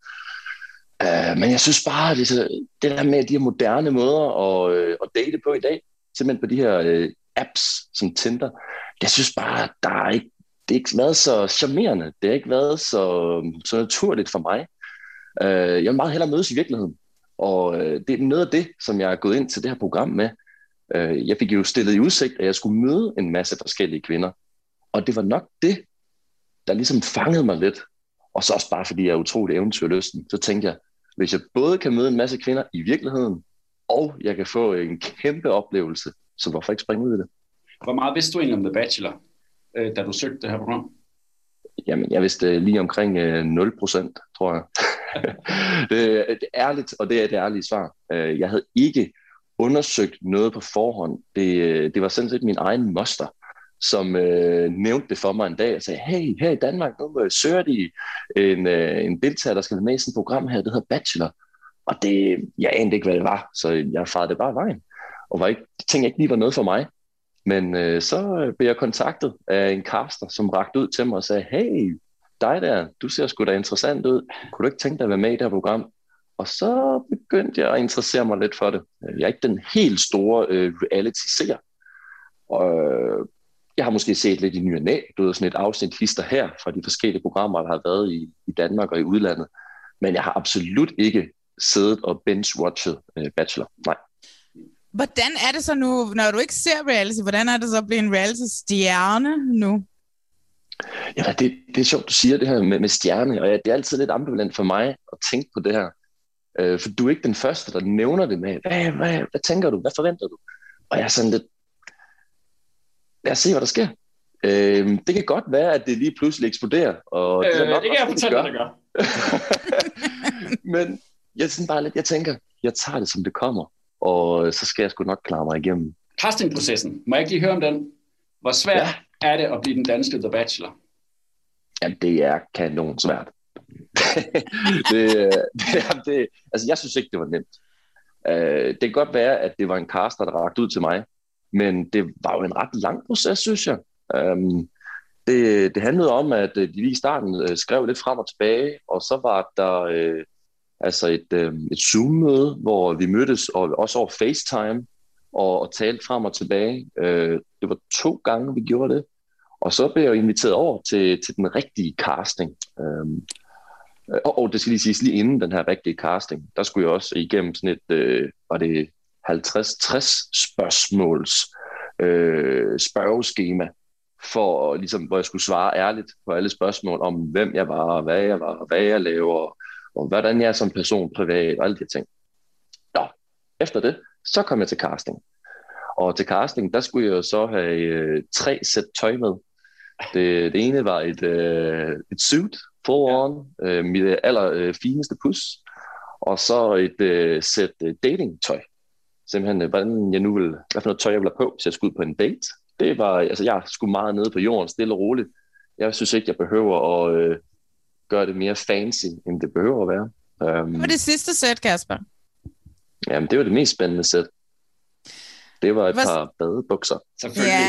Men jeg synes bare, det der med de her moderne måder at date på i dag, simpelthen på de her apps som Tinder, jeg synes bare, det har ikke været så charmerende. Det har ikke været så naturligt for mig. Jeg vil meget hellere mødes i virkeligheden. Og det er noget af det, som jeg er gået ind til det her program med. Jeg fik jo stillet i udsigt, at jeg skulle møde en masse forskellige kvinder. Og det var nok det, der ligesom fangede mig lidt. Og så også bare fordi jeg er utrolig eventyrlysten, så tænkte jeg, hvis jeg både kan møde en masse kvinder i virkeligheden, og jeg kan få en kæmpe oplevelse, så hvorfor ikke springe ud i det? Hvor meget vidste du egentlig om The Bachelor, da du søgte det her program? Jamen, jeg vidste lige omkring 0%, tror jeg. det er ærligt, og det er det ærlige svar. Jeg havde ikke undersøgt noget på forhånd. Det var sådan set min egen moster, som nævnte det for mig en dag og sagde, hey, her i Danmark, nu søger de en deltager, der skal være med i sådan et program her, det hedder Bachelor. Og jeg anede ikke, hvad det var, så jeg farede det bare vejen. Og tænkte ikke lige var noget for mig. Men så blev jeg kontaktet af en caster, som rakte ud til mig og sagde, hey, dig der, du ser sgu da interessant ud. Kunne du ikke tænke dig at være med i det her program? Og så begyndte jeg at interessere mig lidt for det. Jeg er ikke den helt store reality-seer. Og jeg har måske set lidt i ny og næ, sådan et afsnit hister her fra de forskellige programmer, der har været i Danmark og i udlandet. Men jeg har absolut ikke siddet og binge-watchet Bachelor. Nej. Hvordan er det så nu, når du ikke ser reality, hvordan er det så at blive en reality-stjerne nu? Ja, det er sjovt, du siger det her med stjerne, og det er altid lidt ambivalent for mig at tænke på det her. For du er ikke den første, der nævner det med, hvad tænker du, hvad forventer du? Og jeg er sådan lidt, lad os se, hvad der sker. Det kan godt være, at det lige pludselig eksploderer. Og det kan jeg fortælle dig, det gør. Men jeg tænker, jeg tager det, som det kommer. Og så skal jeg sgu nok klare mig igennem. Castingprocessen, må jeg ikke lige høre om den? Hvor svært er det at blive den danske The Bachelor? Jamen, det er kanon svært. Altså, jeg synes ikke, det var nemt. Det kan godt være, at det var en caster, der rakte ud til mig, men det var jo en ret lang proces, synes jeg. Det handlede om, at de lige i starten skrev lidt frem og tilbage, og så var der et Zoom-møde, hvor vi mødtes, og også over FaceTime, og talte frem og tilbage. Det var 2 gange, vi gjorde det. Og så blev jeg inviteret over til den rigtige casting. Og det skal lige siges, lige inden den her rigtige casting, der skulle jeg også igennem sådan et, var det 50-60 spørgsmåls spørgeskema, for ligesom, hvor jeg skulle svare ærligt på alle spørgsmål om, hvem jeg var, hvad jeg laver, og hvordan jeg er som person privat, og alle de ting. Nå, efter det, så kom jeg til casting. Og til casting, der skulle jeg så have 3 sæt tøj med. Det ene var et suit, full on, mit allerfineste pus, og så et sæt datingtøj. Simpelthen, hvad for noget tøj jeg ville have på, hvis jeg skulle ud på en date. Det var, altså jeg skulle meget nede på jorden, stille og roligt. Jeg synes ikke, jeg behøver at gøre det mere fancy, end det behøver at være. Hvad var det sidste sæt, Kasper? Jamen, det var det mest spændende sæt. Det var et par badebukser. Selvfølgelig.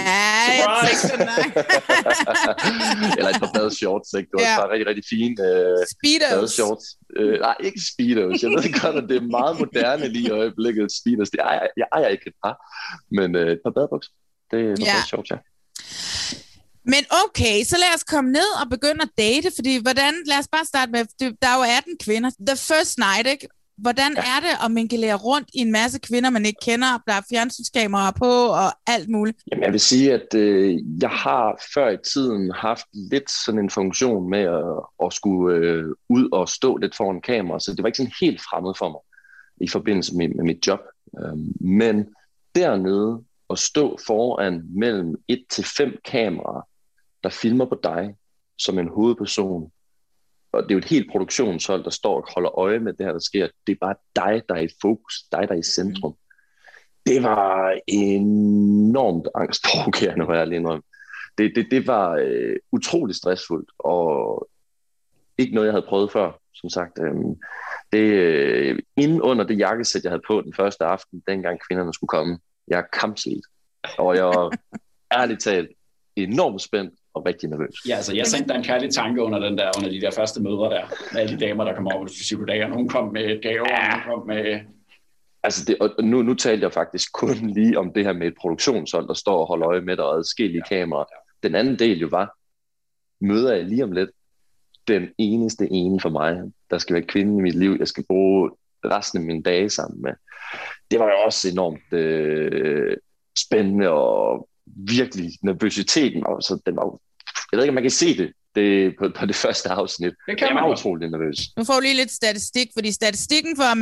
Eller et par badeshorts, ikke? Det var et par rigtig, rigtig fine badeshorts. Nej, ikke Speedos. Jeg ved godt, at det er meget moderne lige i øjeblikket. Speedos, jeg ejer ikke et par. Men et par badebukser, det var badeshorts, ja. Men okay, så lad os komme ned og begynde at date, fordi lad os bare starte med, der er jo 18 kvinder. The first night, ikke? Hvordan er det at mingelere rundt i en masse kvinder, man ikke kender, der er fjernsynskameraer på og alt muligt? Jamen, jeg vil sige, at jeg har før i tiden haft lidt sådan en funktion med at skulle ud og stå lidt foran kamera, så det var ikke sådan helt fremmed for mig i forbindelse med mit job. Men dernede at stå foran mellem 1 til 5 kameraer, der filmer på dig som en hovedperson. Og det er jo et helt produktionshold, der står og holder øje med det her, der sker. Det er bare dig, der er i fokus, dig, der er i centrum. Det var enormt angstprovokerende, hvor jeg lige indrømme. Det var utrolig stressfuldt, og ikke noget, jeg havde prøvet før, som sagt. Inden under det jakkesæt, jeg havde på den første aften, dengang kvinderne skulle komme, jeg er kampslidt. Og jeg var ærligt talt enormt spændt og rigtig nervøs. Ja, altså jeg sendte en kærlig tanke under de der første møder der, med alle de damer, der kom over til psykologer. Nogle kom med gaver, nogle kom med... Altså og nu talte jeg faktisk kun lige om det her med et produktionshold, der står og holder øje med dig og adskillige kameraer. Den anden del jo var, møder jeg lige om lidt den eneste ene for mig, der skal være kvinden i mit liv, jeg skal bruge resten af mine dage sammen med. Det var jo også enormt spændende, og virkelig nervøsiteten, altså, den var, jeg ved ikke, om man kan se det på det første afsnit. Det kan man utrolig nervøs. Nu får vi lige lidt statistik, fordi statistikken for, at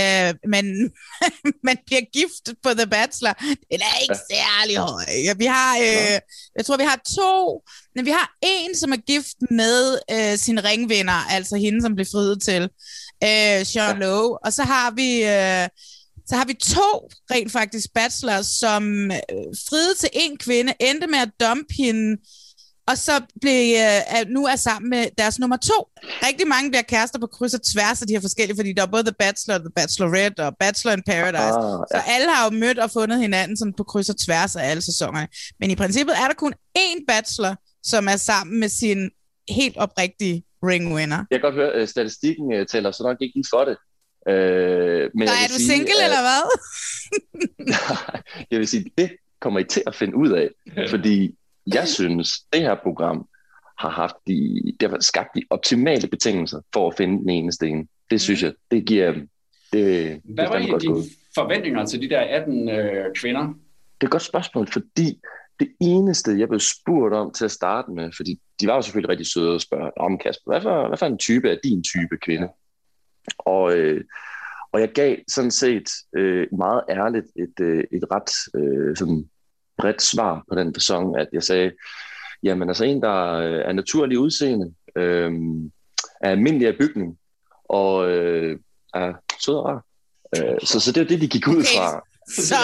man bliver gift på The Bachelor, den er ikke særlig høj. Vi har, jeg tror, vi har 2, men vi har en, som er gift med sin ringvinder, altså hende, som blev friet til, Sean Lowe, og så har vi 2 rent faktisk bachelors, som friede til en kvinde, endte med at dumpe hende, og så nu er sammen med deres nummer 2. Rigtig mange bliver kærester på kryds og tværs af de her forskellige, fordi der er både The Bachelor, The Bachelorette og Bachelor in Paradise. Så alle har jo mødt og fundet hinanden sådan på kryds og tværs af alle sæsonerne. Men i princippet er der kun én bachelor, som er sammen med sin helt oprigtige ringwinner. Jeg kan godt høre, at statistikken tæller så nok ikke lige for det. Men er du single, eller hvad? Jeg vil sige, det kommer I til at finde ud af, fordi jeg synes, det her program har skabt de optimale betingelser for at finde den eneste ene. Det synes jeg, det giver... Hvad var egentlig dine forventninger til de der 18 kvinder? Det er et godt spørgsmål, fordi det eneste, jeg blev spurgt om til at starte med, fordi de var jo selvfølgelig rigtig søde at spørge om, Kasper, hvad for en type er din type kvinde? Og jeg gav sådan set meget ærligt et ret sådan bredt svar på den facon, at jeg sagde, jamen altså en, der er naturlig udseende, er almindelig af bygning, og er sød og rar. Så det er det, de gik ud fra. Så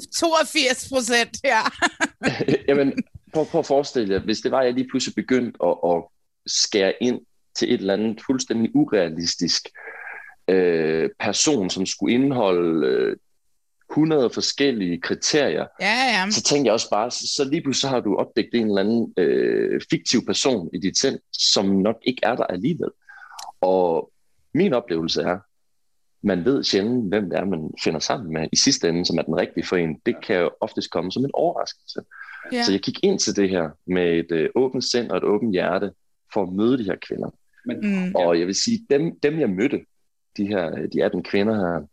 82%, ja. Jamen, prøv at forestille jer, hvis det var, at jeg lige pludselig begyndte at skære ind til et eller andet fuldstændig urealistisk person, som skulle indeholde 100 forskellige kriterier, så tænkte jeg også bare, så lige pludselig har du opdækket en eller anden fiktiv person i dit sind, som nok ikke er der alligevel. Og min oplevelse er, man ved sjældent, hvem det er, man finder sammen med i sidste ende, som er den rigtige for en. Det kan jo oftest komme som en overraskelse. Ja. Så jeg gik ind til det her med et åbent sind og et åbent hjerte, for at møde de her kvinder. Og jeg vil sige, dem jeg mødte, de 18 kvinder her,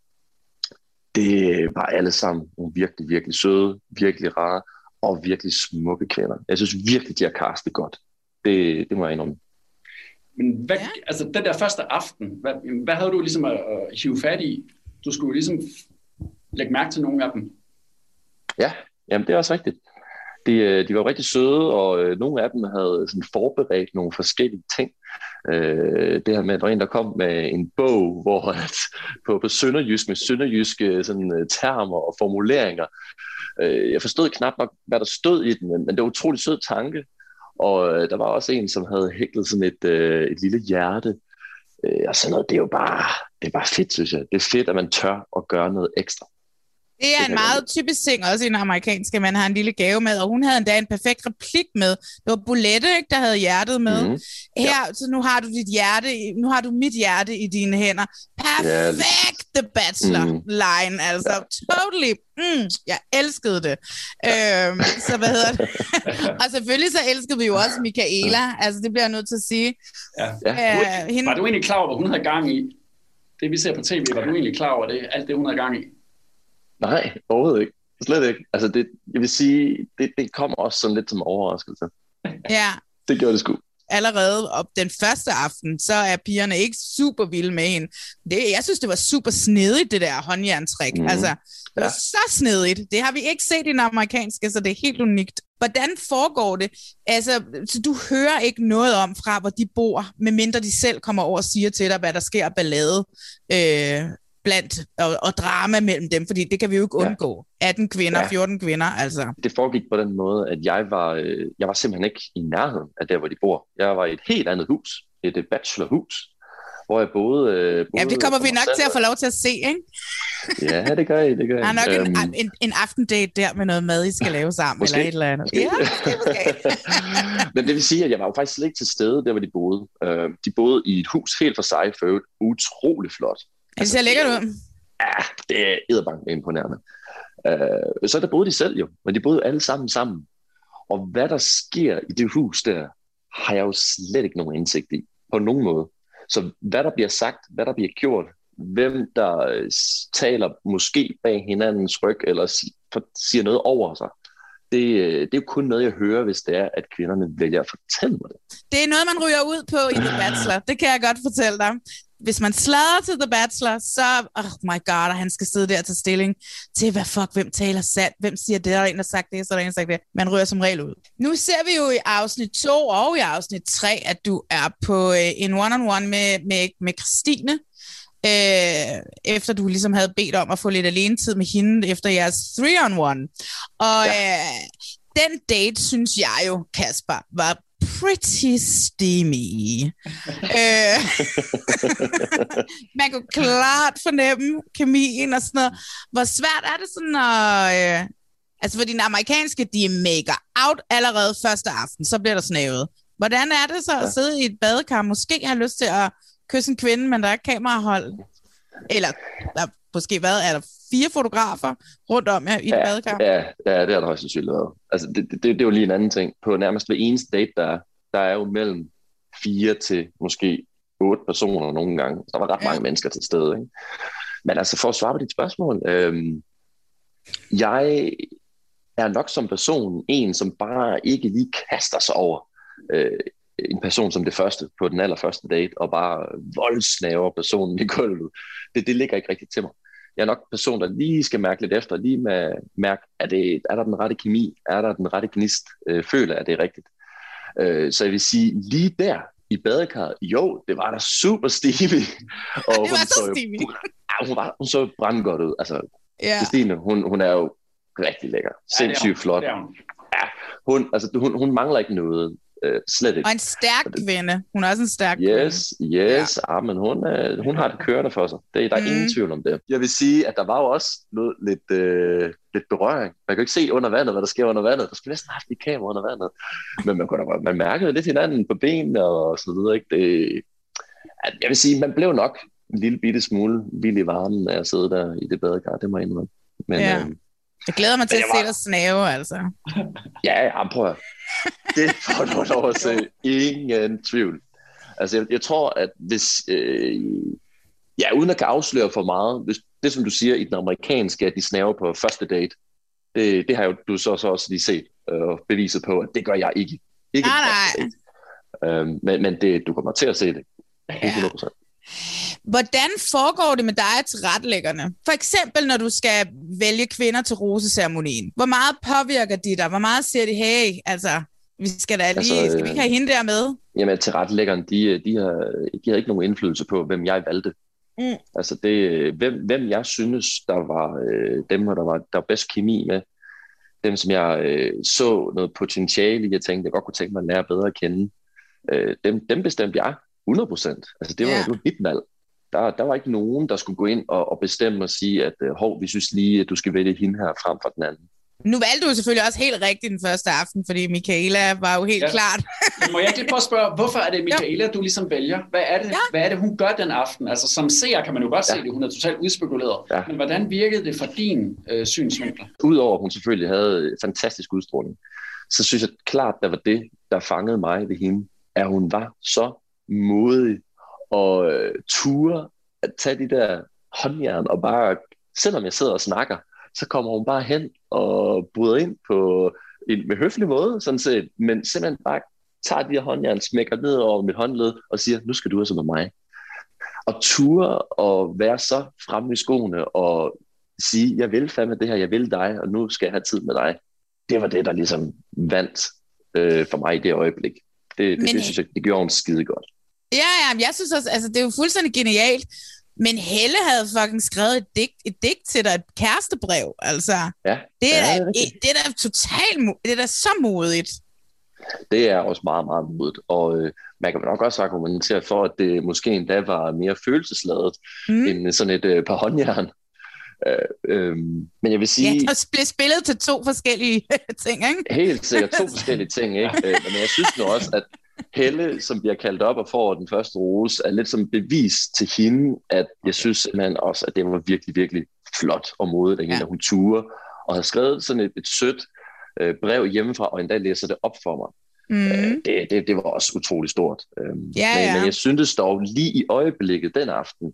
det var alle sammen nogle virkelig, virkelig søde, virkelig rare og virkelig smukke kvinder. Jeg synes virkelig, de har castet godt. Det må jeg indrømme. Men altså den der første aften, hvad havde du ligesom at hive fat i? Du skulle ligesom lægge mærke til nogle af dem. Ja, jamen det er også rigtigt. De var rigtig søde, og nogle af dem havde sådan forberedt nogle forskellige ting. Det her med, at der var en, der kom med en bog, hvor på sønderjysk med sønderjyske sådan, termer og formuleringer. Jeg forstod knap nok, hvad der stod i den, men det var utrolig sød tanke. Og der var også en, som havde hæklet sådan et lille hjerte. Og sådan noget, det er bare fedt, synes jeg. Det er fedt, at man tør at gøre noget ekstra. Det er en meget typisk ting, også i den amerikanske, man har en lille gave med, og hun havde endda en perfekt replik med. Det var Bolette, ikke, der havde hjertet med. Her, så nu har du nu har du mit hjerte i dine hænder. Perfekt, The Bachelor-line, altså. Totally. Jeg elskede det. Så hvad hedder det? Og selvfølgelig så elskede vi jo også Michaela. Altså, det bliver jeg nødt til at sige. Var du egentlig klar over, hvad hun havde gang i? Det vi ser på tv, var du egentlig klar over det? Alt det, hun havde gang i? Nej, overhovedet ikke. Slet ikke. Altså jeg vil sige, det kommer også sådan lidt som overraskelse. Ja. Det gjorde det sgu. allerede op den første aften, så er pigerne ikke super vilde med hende. Jeg synes, det var super snedigt, det der håndjerntrik. Altså, det var så snedigt. Det har vi ikke set i den amerikanske, så det er helt unikt. Hvordan foregår det? Altså, så du hører ikke noget om fra, hvor de bor, medmindre de selv kommer over og siger til dig, hvad der sker af ballade blandt og drama mellem dem, fordi det kan vi jo ikke undgå. 18 kvinder, 14 kvinder, altså. Det foregik på den måde, at jeg var simpelthen ikke i nærheden af der, hvor de bor. Jeg var i et helt andet hus, et bachelorhus, hvor jeg boede ja, det kommer vi nok til at få lov til at se, ikke? Ja, det gør I. Der er nok en aftendate der med noget mad, I skal lave sammen, måske. Eller et eller andet. Ja, måske. Men det vil sige, at jeg var jo faktisk slet ikke til stede, der hvor de boede. De boede i et hus helt for sig, for øvrigt utrolig flot. Det ser lækkert ud. Ja, det er edderbank imponerende. Så der boede de selv jo, men de boede alle sammen. Og hvad der sker i det hus der, har jeg jo slet ikke nogen indsigt i, på nogen måde. Så hvad der bliver sagt, hvad der bliver gjort, hvem der taler måske bag hinandens ryg, eller siger noget over sig, det er jo kun noget, jeg hører, hvis det er, at kvinderne vælger at fortælle mig det. Det er noget, man ryger ud på i The Bachelor. Det kan jeg godt fortælle dig. Hvis man sladrer til The Bachelor, så, oh my god, og han skal sidde der til stilling til, hvem taler sandt, hvem siger det, der er en, der har sagt det, så er der en, der har sagt det. Man ryger som regel ud. Nu ser vi jo i afsnit 2 og i afsnit 3, at du er på en one-on-one med Christine, efter du ligesom havde bedt om at få lidt alenetid med hende efter jeres 3-on-1. Og den date, synes jeg jo, Kasper, var pretty steamy. Man kunne klart fornemme kemien og sådan noget. Hvor svært er det sådan at... altså for dine amerikanske, de maker out allerede første aften, så bliver der snævet. Hvordan er det så at sidde i et badekar? Måske har lyst til at kysse en kvinde, men der er kamerahold. Eller der måske er der 4 fotografer rundt om jer i et badekar? Ja, det er der højst sandsynligt været. Altså, det er jo lige en anden ting. På nærmest hver eneste date, der er jo mellem 4 til måske 8 personer nogle gange. Der var ret mange mennesker til stede. Ikke? Men altså, for at svare på dit spørgsmål, jeg er nok som person en, som bare ikke lige kaster sig over en person som det første på den allerførste date, og bare voldsnaver personen i gulvet. Det ligger ikke rigtigt til mig. Jeg er nok en person, der lige skal mærke lidt efter, lige med mærke, er der den rette kemi, er der den rette gnist, føler jeg, det er rigtigt. Så jeg vil sige, lige der i badekarret, jo, det var da super steamy. Og det var så steamy. Hun så brandgodt ud. Altså, Christine, hun er jo rigtig lækker. Sindssygt flot. Ja, hun mangler ikke noget. Slet ikke. Og en stærk kvinde. Hun er også en stærk kvinde. Yes. Ja, men hun har det kørende for sig. Der er ingen tvivl om det. Jeg vil sige, at der var jo også lidt berøring. Man kan ikke se under vandet, hvad der sker under vandet. Der skulle næsten have haft et kamera under vandet. Men man mærkede lidt hinanden på benene og så videre. Ikke? Jeg vil sige, man blev nok en lille bitte smule vild i varmen, af at sidde der i det badekar. Det må jeg indrømme. Men, jeg glæder mig til at se dig snave, altså. Ja, prøv at. Det får du lov at se. Ingen tvivl. Altså, jeg tror, at hvis... uden at kan afsløre for meget, hvis det, som du siger i den amerikanske, at de snaver på første date, det har jo du så også lige set og beviset på, at det gør jeg ikke. Nej. Men du kommer til at se det. 100%. Hvordan foregår det med dig og tilrettelæggerne? For eksempel, når du skal vælge kvinder til roseceremonien. Hvor meget påvirker de dig? Hvor meget siger de, hey, altså, skal vi ikke have hende der med? Jamen, tilrettelæggerne, de har ikke nogen indflydelse på, hvem jeg valgte. Altså, hvem jeg synes, der var dem, der var bedst kemi med. Dem, som jeg så noget potentiale i, jeg tænkte, jeg godt kunne tænke mig at lære bedre at kende. Dem bestemte jeg 100%. Altså, det var mit valg. Der var ikke nogen, der skulle gå ind og bestemme og sige, at vi synes lige, at du skal vælge hende her frem for den anden. Nu valgte du selvfølgelig også helt rigtigt den første aften, fordi Michaela var jo helt klart. Må jeg ikke lige prøve at spørge, hvorfor er det Michaela, du ligesom vælger? Hvad er det, hun gør den aften? Altså, som seer kan man jo godt se det, hun er totalt udspekuleret. Ja. Men hvordan virkede det for din synsvinkel? Udover at hun selvfølgelig havde fantastisk udstråling, så synes jeg klart, der var det, der fangede mig ved hende, at hun var så modig og ture at tage de der håndjern og bare, selvom jeg sidder og snakker, så kommer hun bare hen og bryder ind på med høflig måde, sådan set, men simpelthen bare tager de her håndjern, smækker ned over mit håndled og siger, nu skal du altså med mig. Og ture og være så fremme i skoene og sige, jeg vil fandme det her, jeg vil dig, og nu skal jeg have tid med dig. Det var det, der ligesom vandt for mig i det øjeblik. Det synes jeg, det gjorde hun skide godt. Ja, jeg synes også, altså det er jo fuldstændig genialt, men Helle havde fucking skrevet et digt til dig, et kærestebrev, altså. Ja, det er da totalt, det er da så modigt. Det er også meget, meget modigt, og man kan nok også argumentere for, at det måske endda var mere følelsesladet end sådan et par håndjern. Men jeg vil sige... Ja, der blev spillet til 2 forskellige ting, ikke? Helt sikkert 2 forskellige ting, ikke? Men jeg synes nu også, at Helle, som bliver kaldt op og får den første rose, er lidt som bevis til hende, at jeg synes simpelthen også, at det var virkelig, virkelig flot og modigt af hende, at hun turde, og har skrevet sådan et sødt brev hjemmefra, og endda læser det op for mig. Det var også utrolig stort. Men jeg syntes dog lige i øjeblikket den aften,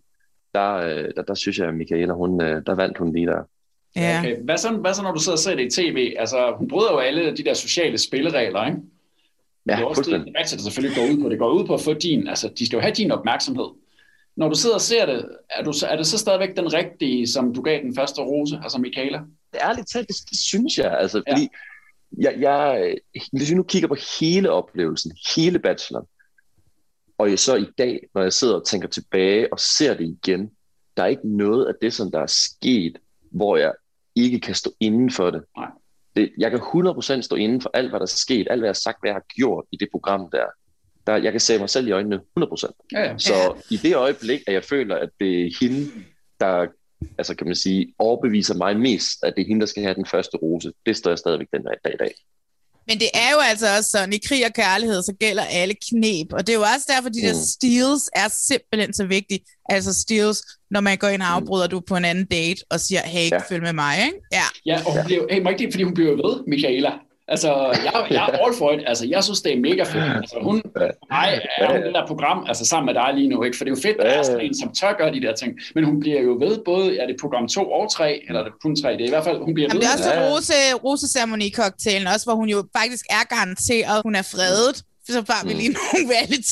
der synes jeg, at Michaela, der vandt hun lige der. Ja. Okay. Hvad så, når du sidder og ser det i tv? Altså, hun bryder jo alle de der sociale spilleregler, ikke? Ja, det er også det, der selvfølgelig går ud på. Det går ud på at få de skal jo have din opmærksomhed. Når du sidder og ser det, er det så stadigvæk den rigtige, som du gav den første rose, altså Michaela? Ærligt talt, det synes jeg, altså, fordi hvis vi nu kigger på hele oplevelsen, hele bacheloren, og så i dag, når jeg sidder og tænker tilbage og ser det igen, der er ikke noget af det, som der er sket, hvor jeg ikke kan stå inden for det. Nej. Jeg kan 100% stå inden for alt, hvad der er sket, alt, hvad jeg har sagt, hvad jeg har gjort i det program der. Jeg kan se mig selv i øjnene 100%. Ja. Så i det øjeblik, at jeg føler, at det er hende, der altså kan man sige, overbeviser mig mest, at det er hende, der skal have den første rose, det står jeg stadigvæk den dag i dag. Men det er jo altså også sådan, i krig og kærlighed, så gælder alle knep. Og det er jo også derfor, de der steals er simpelthen så vigtige. Altså steals, når man går ind og afbryder du på en anden date og siger, hey, følg med mig, ikke? Ja, og hun bliver, fordi hun bliver ved, Michaela. Altså, jeg er all for it. Altså, jeg synes, det er mega fedt. Altså, hun er det der program, altså sammen med dig lige nu, ikke? For det er jo fedt, at der er sådan en, som tør gøre de der ting. Men hun bliver jo ved, både er det program 2 og 3, eller er det kun 3, det er i hvert fald, hun bliver ved. Det er også roseceremoni-cocktailen, også hvor hun jo faktisk er garanteret, hun er fredet. Så bare vi lige nogle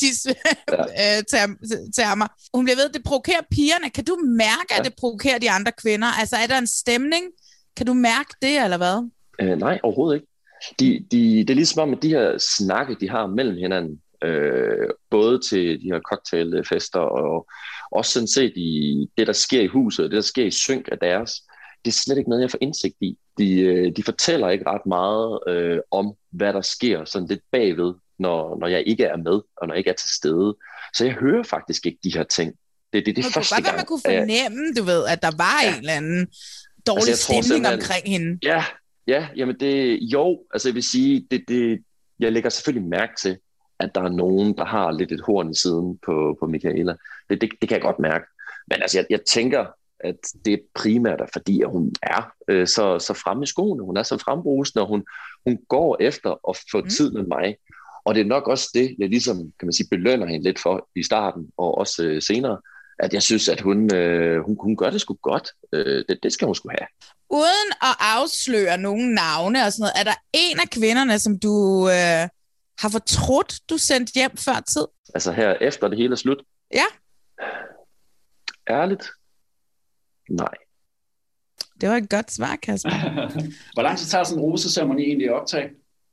reality-termer. Hun bliver ved, det provokerer pigerne. Kan du mærke, at det provokerer de andre kvinder? Altså, er der en stemning? Kan du mærke det, eller hvad? Nej, overhovedet ikke. Det er ligesom om, at de her snakke, de har mellem hinanden, både til de her cocktailfester, og også sådan set i det, der sker i huset, og det, der sker i synk af deres, det er slet ikke noget, jeg får indsigt i. De fortæller ikke ret meget om, hvad der sker sådan lidt bagved, når jeg ikke er med, og når jeg ikke er til stede. Så jeg hører faktisk ikke de her ting. Det er første gang. Man kunne fornemme, du ved, at der var en eller anden dårlig stemning omkring hende. Ja, jamen altså jeg vil sige, jeg lægger selvfølgelig mærke til, at der er nogen, der har lidt et horn i siden på Michaela. Det kan jeg godt mærke. Men altså, jeg tænker, at det er primært fordi, at hun er så fremme i skoene, hun er så frembrusende, og hun går efter at få tid med mig. Og det er nok også det, jeg ligesom, kan man sige, belønner hende lidt for i starten, og også senere, at jeg synes, at hun gør det sgu godt. Det skal hun sgu have. Uden at afsløre nogle navne og sådan noget, er der en af kvinderne, som du har fortrudt, du sendte hjem før tid? Altså her efter det hele er slut? Ja. Ærligt? Nej. Det var et godt svar, Kasper. Hvor lang tid tager sådan en roseceremoni egentlig at optage?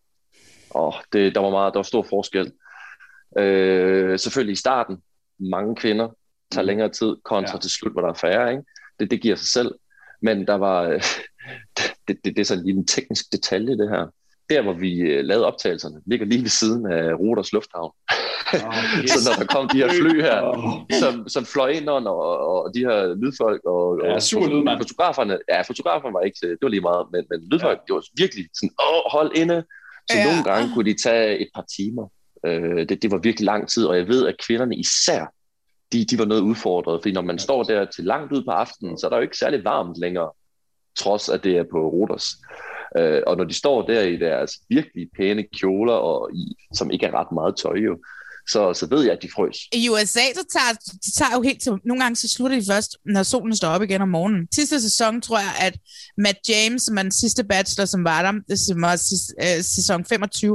Der var stor forskel. Selvfølgelig i starten, mange kvinder tager længere tid, kontra til slut, hvor der er færre, ikke? Det giver sig selv. Men der var, det er sådan lige en teknisk detalje, det her. Der, hvor vi lavede optagelserne, ligger lige ved siden af Ruders Lufthavn. Yes. Så når der kom de her fly her, som fløj ind under, og de her lydfolk, og fotograferne var ikke, det var lige meget, men lydfolk, det var virkelig sådan, hold inde. Så nogle gange kunne de tage et par timer. Det var virkelig lang tid, og jeg ved, at kvinderne især, de var noget udfordret, fordi når man står der til langt ud på aftenen, så er der jo ikke særlig varmt længere, trods at det er på Ruders. Og når de står der i deres virkelig pæne kjoler, som ikke er ret meget tøj jo, så ved jeg, at de frøs. I USA, så tager jo helt til, nogle gange så slutter de først, når solen står op igen om morgenen. Sidste sæson, tror jeg, at Matt James, som er den sidste bachelor, som var der, som var sæson 25,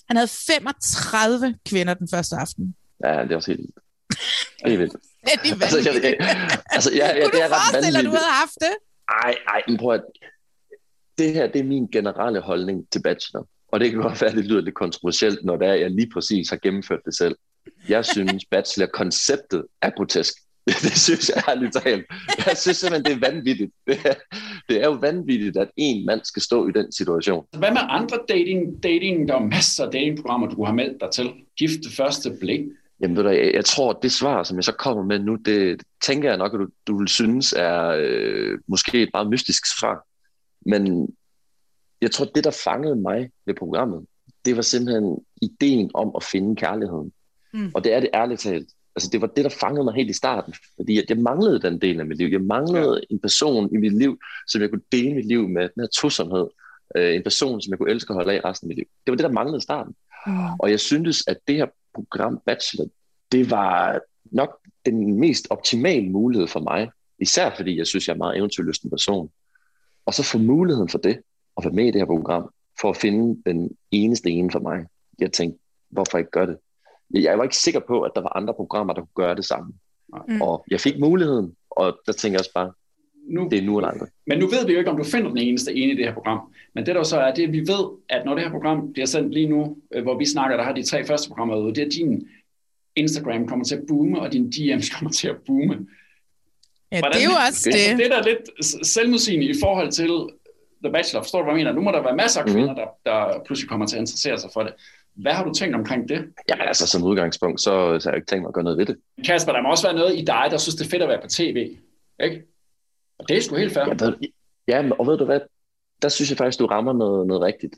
Han havde 35 kvinder den første aften. Ja, det er også helt vildt. Helt vildt. Det er vanvittigt. Kunne du forestille dig, du havde haft det? Ej, men prøv at... Det her, det er min generelle holdning til Bachelor. Og det kan godt være, at det lyder lidt kontroversielt, når det er, jeg lige præcis har gennemført det selv. Jeg synes, Bachelor-konceptet er grotesk. Det synes jeg ærligt talt. Jeg synes simpelthen, det er vanvittigt. Det er jo vanvittigt, at en mand skal stå i den situation. Hvad med andre dating? Der er masser af datingprogrammer, du har meldt dig til. Gift det første blik. Jamen ved du, jeg tror, at det svar, som jeg så kommer med nu, det tænker jeg nok, at du vil synes er måske et meget mystisk svar. Men jeg tror, det, der fangede mig ved programmet, det var simpelthen ideen om at finde kærligheden. Og det er det ærligt talt. Altså, det var det, der fangede mig helt i starten. Fordi jeg manglede den del af mit liv. Jeg manglede en person i mit liv, som jeg kunne dele mit liv med. Den her tosomhed. En person, som jeg kunne elske og holde af resten af mit liv. Det var det, der manglede i starten. Og jeg syntes, at det her program Bachelor, det var nok den mest optimale mulighed for mig. Især fordi jeg synes, jeg er en meget eventyrlysten person. Og så få muligheden for det, at være med i det her program, for at finde den eneste ene for mig. Jeg tænkte, hvorfor ikke gøre det? Jeg var ikke sikker på, at der var andre programmer, der kunne gøre det samme. Og jeg fik muligheden, og der tænker jeg også bare, det er nu eller aldrig. Men nu ved vi jo ikke, om du finder den eneste ene i det her program. Men det der så er, det vi ved, at når det her program bliver sendt lige nu, hvor vi snakker, der har de 3 første programmer ude, det er din Instagram kommer til at boome, og din DM's kommer til at boome. Ja, det er jo også det. Det er da lidt selvmodsigende i forhold til The Bachelor. Forstår du, hvad jeg mener? Nu må der være masser af kvinder, der pludselig kommer til at interessere sig for det. Hvad har du tænkt omkring det? Jamen altså, som udgangspunkt, så har jeg ikke tænkt mig at gøre noget ved det. Kasper, der må også være noget i dig, der synes, det er fedt at være på tv, ikke? Og det er sgu helt fair. Ja, og ved du hvad? Der synes jeg faktisk, du rammer noget rigtigt.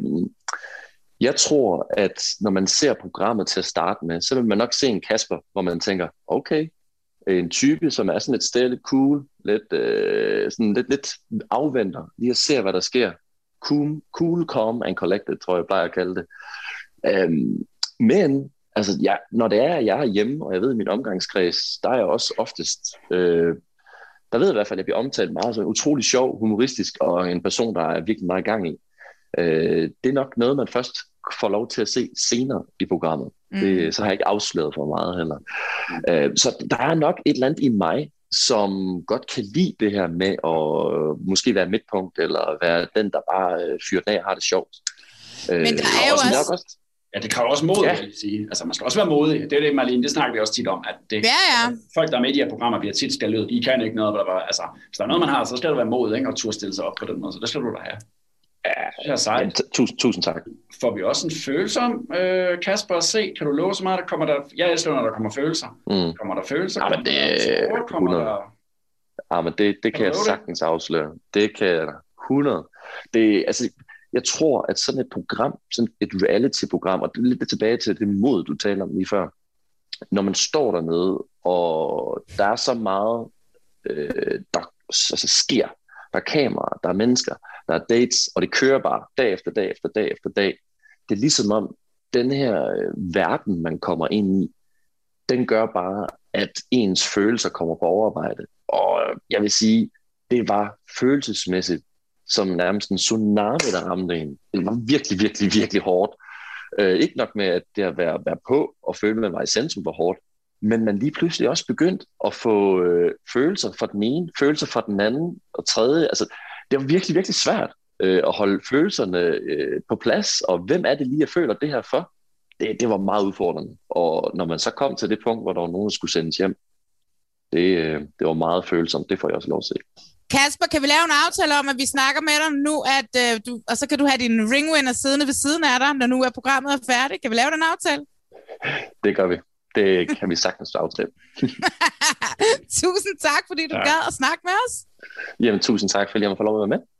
Jeg tror, at når man ser programmet til at starte med, så vil man nok se en Kasper, hvor man tænker, okay, en type, som er sådan et sted lidt cool, lidt afventer, lige at se, hvad der sker. Cool, calm and collected, tror jeg plejer at kalde det. Men altså, når det er, at jeg er hjemme, og jeg ved, i min omgangskreds, der er jeg også oftest, der ved jeg i hvert fald, at jeg bliver omtalt meget så utrolig sjov, humoristisk, og en person, der er virkelig meget gang i. Det er nok noget, man først får lov til at se senere i programmet. Så har jeg ikke afsløret for meget heller. Så der er nok et eller andet i mig, som godt kan lide det her med at måske være midtpunkt, eller være den, der bare fyrer den af og har det sjovt. Men der er jo også... Ja, det kræver også mod, vil jeg sige. Altså, man skal også være modig. Det er det, Marlene, det snakker vi også tit om, at det, folk, der er med i de her programmer, bliver tit skaldet ud. I kan ikke noget, altså, hvis der er noget, man har, så skal der være mod, ikke? Og turde stille sig op på den måde, så det skal du da have. Ja, sejt. Tusind tak. Får vi også en følelse om, Kasper, at se? Kan du love så meget, der kommer der... Jeg elsker, når der kommer følelser. Kommer der følelser? Men det kan jeg sagtens afsløre. Det kan jeg 100. Jeg tror, at sådan et program, sådan et reality-program, og det er lidt tilbage til det mod, du taler om lige før, når man står dernede, og der er så meget, der sker. Der er kameraer, der er mennesker, der er dates, og det kører bare dag efter dag efter dag efter dag. Det er ligesom om, den her verden, man kommer ind i, den gør bare, at ens følelser kommer på overarbejde. Og jeg vil sige, det var følelsesmæssigt som nærmest en tsunami, der ramte en. Det var virkelig, virkelig, virkelig hårdt. Ikke nok med, at det at være på og føle, at man var i centrum var hårdt, men man lige pludselig også begyndt at få følelser for den ene, følelser for den anden og tredje. Altså, det var virkelig, virkelig svært at holde følelserne på plads, og hvem er det lige, jeg føler det her for? Det var meget udfordrende. Og når man så kom til det punkt, hvor der var nogen, der skulle sendes hjem, det var meget følsomt. Det får jeg også lov at se. Kasper, kan vi lave en aftale om, at vi snakker med dig nu, og så kan du have din ringwinner siddende ved siden af dig, når nu er programmet er færdigt. Kan vi lave den aftale? Det gør vi. Det kan vi sagtens aftale. Tusind tak, fordi du gad at snakke med os. Jamen, tusind tak, fordi jeg må få lov at være med.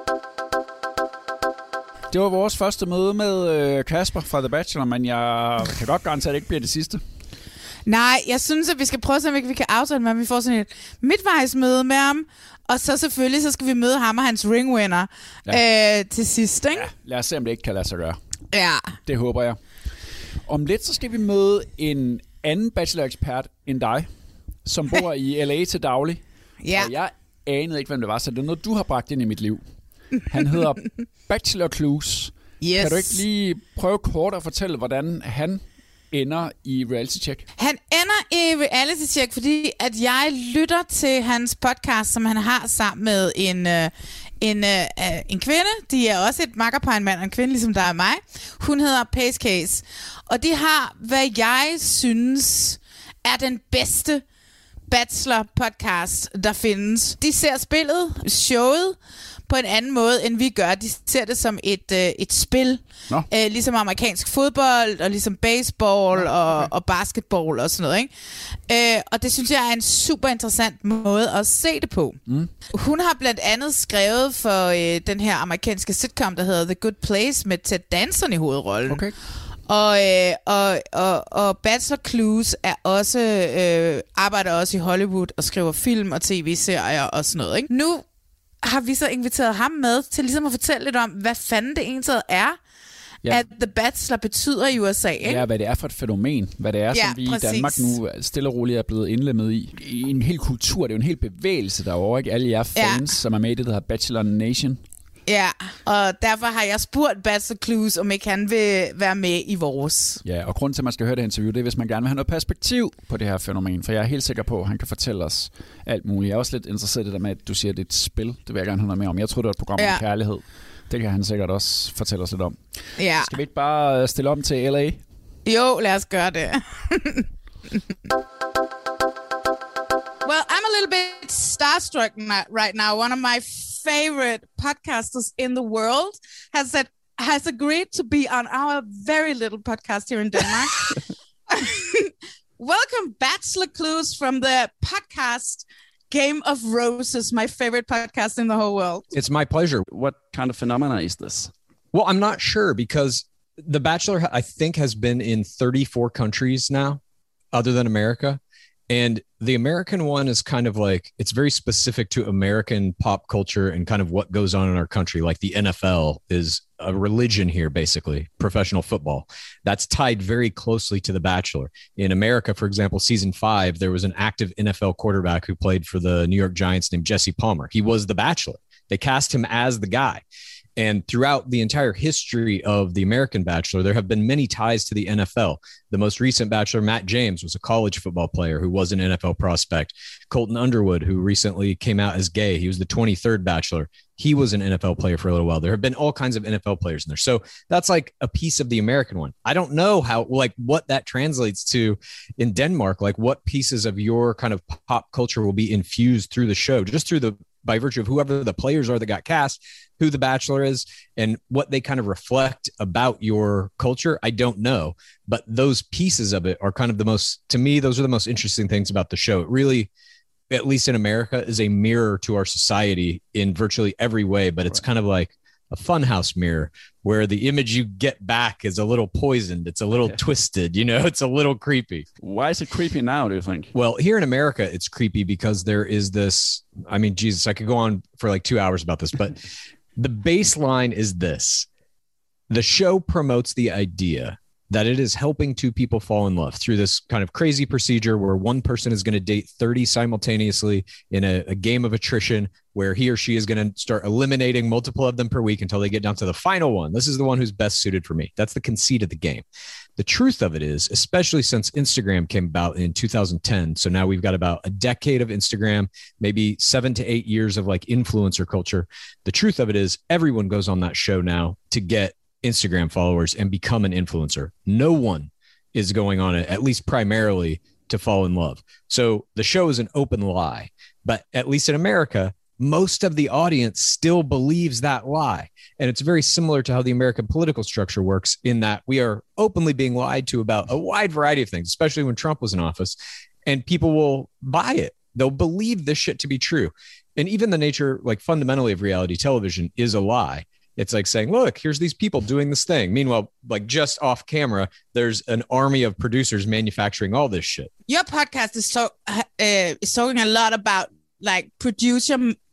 Det var vores første møde med Kasper fra The Bachelor, men jeg kan godt garantere, at det ikke bliver det sidste. Nej, jeg synes, at vi skal prøve at se, om vi kan aftale med ham. Vi får sådan et midtvejsmøde med ham, og så selvfølgelig så skal vi møde ham og hans ringwinner til sidst, ikke? Ja, lad os se, om det ikke kan lade sig gøre. Ja. Det håber jeg. Om lidt, så skal vi møde en anden bachelor-ekspert end dig, som bor i LA til daglig. Ja. Og jeg anede ikke, hvem det var, så det er noget, du har bragt ind i mit liv. Han hedder Bachelor Clues. Yes. Kan du ikke lige prøve kort at fortælle, hvordan han ender i Reality Check? Han ender i Reality Check, fordi at jeg lytter til hans podcast, som han har sammen med en kvinde. De er også et makkerpar, en mand og en kvinde, ligesom der er mig. Hun hedder Pace Case. Og de har, hvad jeg synes er den bedste Bachelor-podcast, der findes. De ser spillet, showet, på en anden måde, end vi gør. De ser det som et spil. Ligesom amerikansk fodbold, og ligesom baseball og basketball og sådan noget. Ikke? Og det synes jeg er en super interessant måde at se det på. Hun har blandt andet skrevet for den her amerikanske sitcom, der hedder The Good Place, med Ted Danson i hovedrollen. Okay. Og Bachelor Clues er også arbejder også i Hollywood og skriver film og tv-serier og sådan noget. Ikke? Nu har vi så inviteret ham med til ligesom at fortælle lidt om, hvad fanden det egentlig er, at The Bachelor betyder i USA. Ikke? Ja, hvad det er for et fænomen. Hvad det er, som vi i Danmark nu stille og roligt er blevet indlemmet i. En hel kultur, det er jo en hel bevægelse derovre, ikke? Alle jer fans, som er med i det, der hedder Bachelor Nation. Ja, og derfor har jeg spurgt Bachelor Clues, om ikke han vil være med i vores. Ja, og grunden til, at man skal høre det interview, det er, hvis man gerne vil have noget perspektiv på det her fænomen. For jeg er helt sikker på, at han kan fortælle os alt muligt. Jeg er også lidt interesseret i det der med, at du siger, at det er et spil. Det vil jeg gerne have noget mere om. Jeg tror, det er et program om kærlighed. Det kan han sikkert også fortælle os lidt om. Ja. Skal vi ikke bare stille om til LA? Jo, lad os gøre det. Well, I'm a little bit starstruck right now. One of my favorite podcasters in the world has agreed to be on our very little podcast here in Denmark. Welcome, Bachelor Clues, from the podcast Game of Roses, my favorite podcast in the whole world. It's my pleasure. What kind of phenomena is this? Well, I'm not sure, because The Bachelor, I think, has been in 34 countries now, other than America. And the American one is kind of like, it's very specific to American pop culture and kind of what goes on in our country. Like the NFL is a religion here, basically, professional football. That's tied very closely to The Bachelor. In America, for example, season 5, there was an active NFL quarterback who played for the New York Giants named Jesse Palmer. He was The Bachelor. They cast him as the guy. And throughout the entire history of the American Bachelor, there have been many ties to the NFL. The most recent Bachelor, Matt James, was a college football player who was an NFL prospect. Colton Underwood, who recently came out as gay, he was the 23rd Bachelor. He was an NFL player for a little while. There have been all kinds of NFL players in there. So that's like a piece of the American one. I don't know how, like, what that translates to in Denmark, like what pieces of your kind of pop culture will be infused through the show, just through the, by virtue of whoever the players are that got cast, who the Bachelor is, and what they kind of reflect about your culture. I don't know, but those pieces of it are kind of the most, to me, those are the most interesting things about the show. It really, at least in America, is a mirror to our society in virtually every way, but it's kind of like a funhouse mirror where the image you get back is a little poisoned. It's a little twisted, you know, it's a little creepy. Why is it creepy now, do you think? Well, here in America, it's creepy because there is this, I mean, Jesus, I could go on for like 2 hours about this, but the baseline is this. The show promotes the idea that it is helping two people fall in love through this kind of crazy procedure where one person is going to date 30 simultaneously in a game of attrition where he or she is going to start eliminating multiple of them per week until they get down to the final one. This is the one who's best suited for me. That's the conceit of the game. The truth of it is, especially since Instagram came about in 2010, so now we've got about a decade of Instagram, maybe 7 to 8 years of like influencer culture. The truth of it is everyone goes on that show now to get Instagram followers and become an influencer. No one is going on it, at least primarily, to fall in love. So the show is an open lie, but at least in America, most of the audience still believes that lie. And it's very similar to how the American political structure works in that we are openly being lied to about a wide variety of things, especially when Trump was in office, and people will buy it. They'll believe this shit to be true. And even the nature, like fundamentally, of reality television is a lie. It's like saying, look, here's these people doing this thing. Meanwhile, like just off camera, there's an army of producers manufacturing all this shit. Your podcast is talking a lot about like producer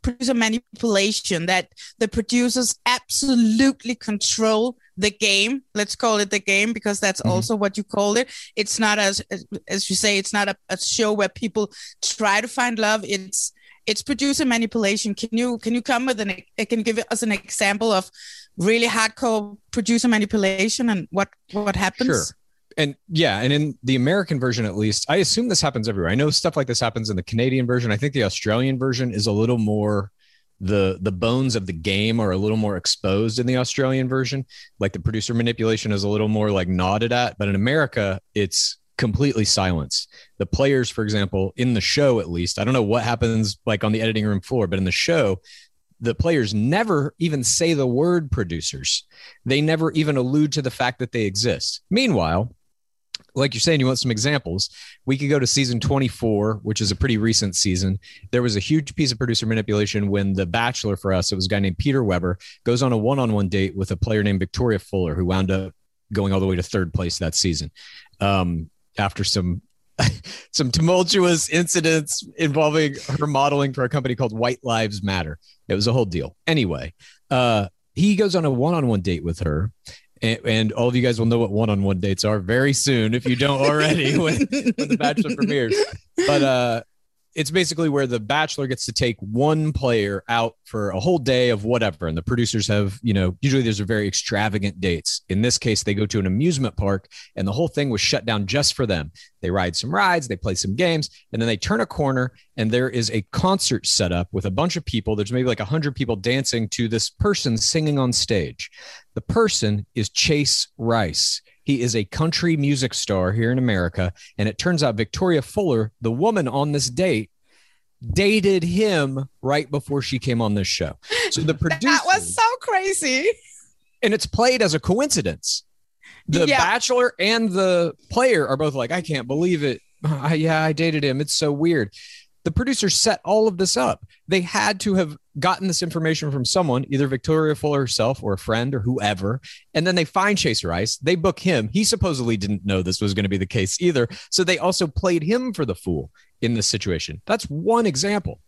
manipulation, that the producers absolutely control the game. Let's call it the game, because that's also what you call it. It's not as you say, it's not a show where people try to find love. it's producer manipulation. Can you come with can you give us an example of really hardcore producer manipulation and what happens? Sure. And yeah, and in the American version, at least, I assume this happens everywhere. I know stuff like this happens in the Canadian version. I think the Australian version is a little more, the bones of the game are a little more exposed in the Australian version. Like the producer manipulation is a little more like nodded at, but in America, it's completely silenced. The players, for example, in the show, at least, I don't know what happens like on the editing room floor, but in the show, the players never even say the word producers. They never even allude to the fact that they exist. Meanwhile, like you're saying, you want some examples. We could go to season 24, which is a pretty recent season. There was a huge piece of producer manipulation when The Bachelor, for us, it was a guy named Peter Weber, goes on a one-on-one date with a player named Victoria Fuller, who wound up going all the way to third place that season. After some tumultuous incidents involving her modeling for a company called White Lives Matter. It was a whole deal. Anyway, he goes on a one-on-one date with her. And all of you guys will know what one-on-one dates are very soon if you don't already when The Bachelor premieres. But it's basically where The Bachelor gets to take one player out for a whole day of whatever. And the producers have, usually there's a very extravagant dates. In this case, they go to an amusement park and the whole thing was shut down just for them. They ride some rides, they play some games, and then they turn a corner and there is a concert set up with a bunch of people. There's maybe like 100 people dancing to this person singing on stage. The person is Chase Rice. He is a country music star here in America. And it turns out Victoria Fuller, the woman on this date, dated him right before she came on this show. So the producer, that was so crazy. And it's played as a coincidence. The Bachelor and the player are both like, I can't believe it. I dated him. It's so weird. The producers set all of this up. They had to have gotten this information from someone, either Victoria Fuller herself or a friend or whoever. And then they find Chase Rice. They book him. He supposedly didn't know this was going to be the case either. So they also played him for the fool in this situation. That's one example.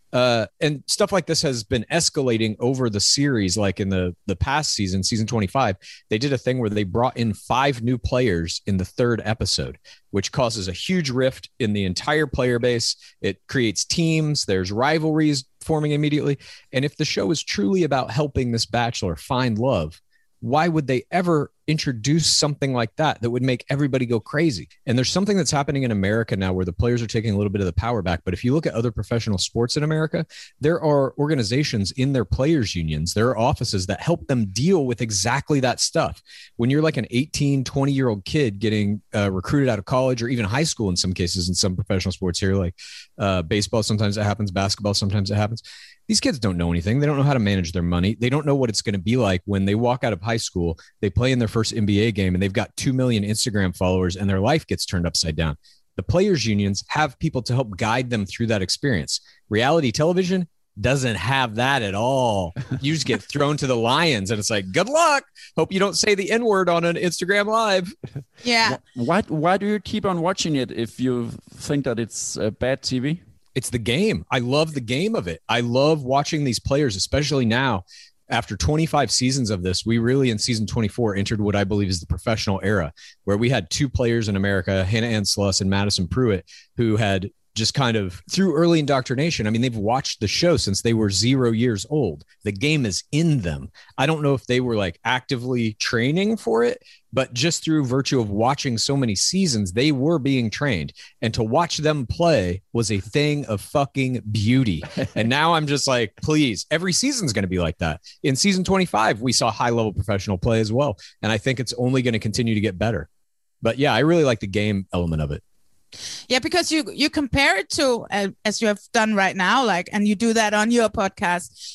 And stuff like this has been escalating over the series. Like in the past season, season 25, they did a thing where they brought in 5 new players in the 3rd episode, which causes a huge rift in the entire player base. It creates teams. There's rivalries forming immediately. And if the show is truly about helping this Bachelor find love, why would they ever introduce something like that would make everybody go crazy? And there's something that's happening in America now where the players are taking a little bit of the power back. But if you look at other professional sports in America, there are organizations in their players unions, there are offices that help them deal with exactly that stuff. When you're like an 18, 20-year-old kid getting recruited out of college or even high school in some cases, in some professional sports here, like baseball, sometimes it happens, basketball, sometimes it happens. These kids don't know anything. They don't know how to manage their money. They don't know what it's going to be like when they walk out of high school, they play in their first NBA game and they've got 2 million Instagram followers and their life gets turned upside down. The players unions have people to help guide them through that experience. Reality television doesn't have that at all. You just get thrown to the lions and it's like, good luck. Hope you don't say the N-word on an Instagram live. Yeah. Why do you keep on watching it if you think that it's bad TV? It's the game. I love the game of it. I love watching these players, especially now. After 25 seasons of this, we really, in season 24, entered what I believe is the professional era, where we had 2 players in America, Hannah Ann Sluss and Madison Pruitt, who had just kind of through early indoctrination. I mean, they've watched the show since they were 0 years old. The game is in them. I don't know if they were like actively training for it, but just through virtue of watching so many seasons, they were being trained. And to watch them play was a thing of fucking beauty. And now I'm just like, please, every season's going to be like that. In season 25, we saw high level professional play as well. And I think it's only going to continue to get better. But yeah, I really like the game element of it. Yeah, because you compare it to, as you have done right now, like, and you do that on your podcast,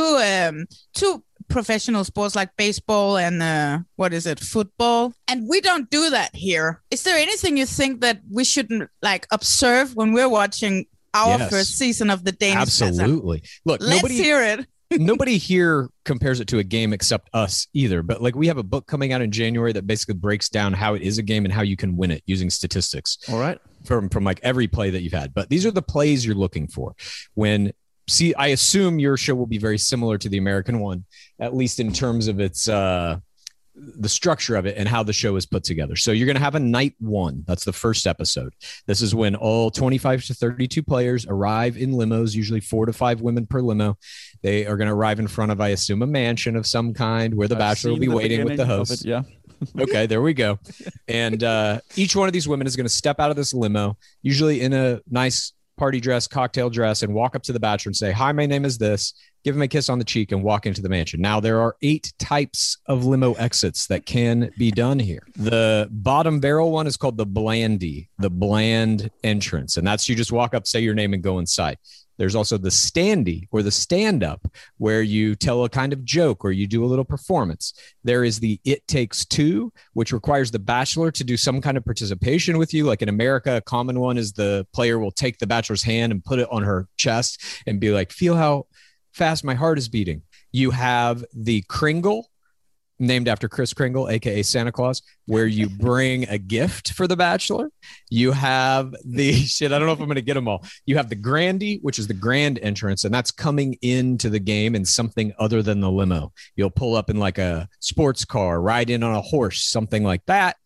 to professional sports like baseball and football. And we don't do that here. Is there anything you think that we shouldn't like observe when we're watching our first season of the Danish? Absolutely. Look, let's hear it. Nobody here compares it to a game except us either. But like, we have a book coming out in January that basically breaks down how it is a game and how you can win it using statistics. All right. From like every play that you've had. But these are the plays you're looking for. I assume your show will be very similar to the American one, at least in terms of its the structure of it and how the show is put together. So you're going to have a night one. That's the first episode. This is when all 25 to 32 players arrive in limos, usually 4 to 5 women per limo. They are going to arrive in front of, I assume, a mansion of some kind where the bachelor will be waiting with the host. Yeah. Okay, there we go. And each one of these women is going to step out of this limo, usually in a nice party dress, cocktail dress, and walk up to the bachelor and say, "Hi, my name is this," give him a kiss on the cheek, and walk into the mansion. Now, there are 8 types of limo exits that can be done here. The bottom barrel one is called the blandy, the bland entrance. And that's you just walk up, say your name, and go inside. There's also the standy, or the stand-up, where you tell a kind of joke or you do a little performance. There is the It Takes Two, which requires the bachelor to do some kind of participation with you. Like in America, a common one is the player will take the bachelor's hand and put it on her chest and be like, "Feel how fast my heart is beating." You have the Kringle, named after Kris Kringle, aka Santa Claus, where you bring a gift for the bachelor. You have the I don't know if I'm going to get them all. You have the Grandy, which is the grand entrance, and that's coming into the game in something other than the limo. You'll pull up in like a sports car, ride in on a horse, something like that.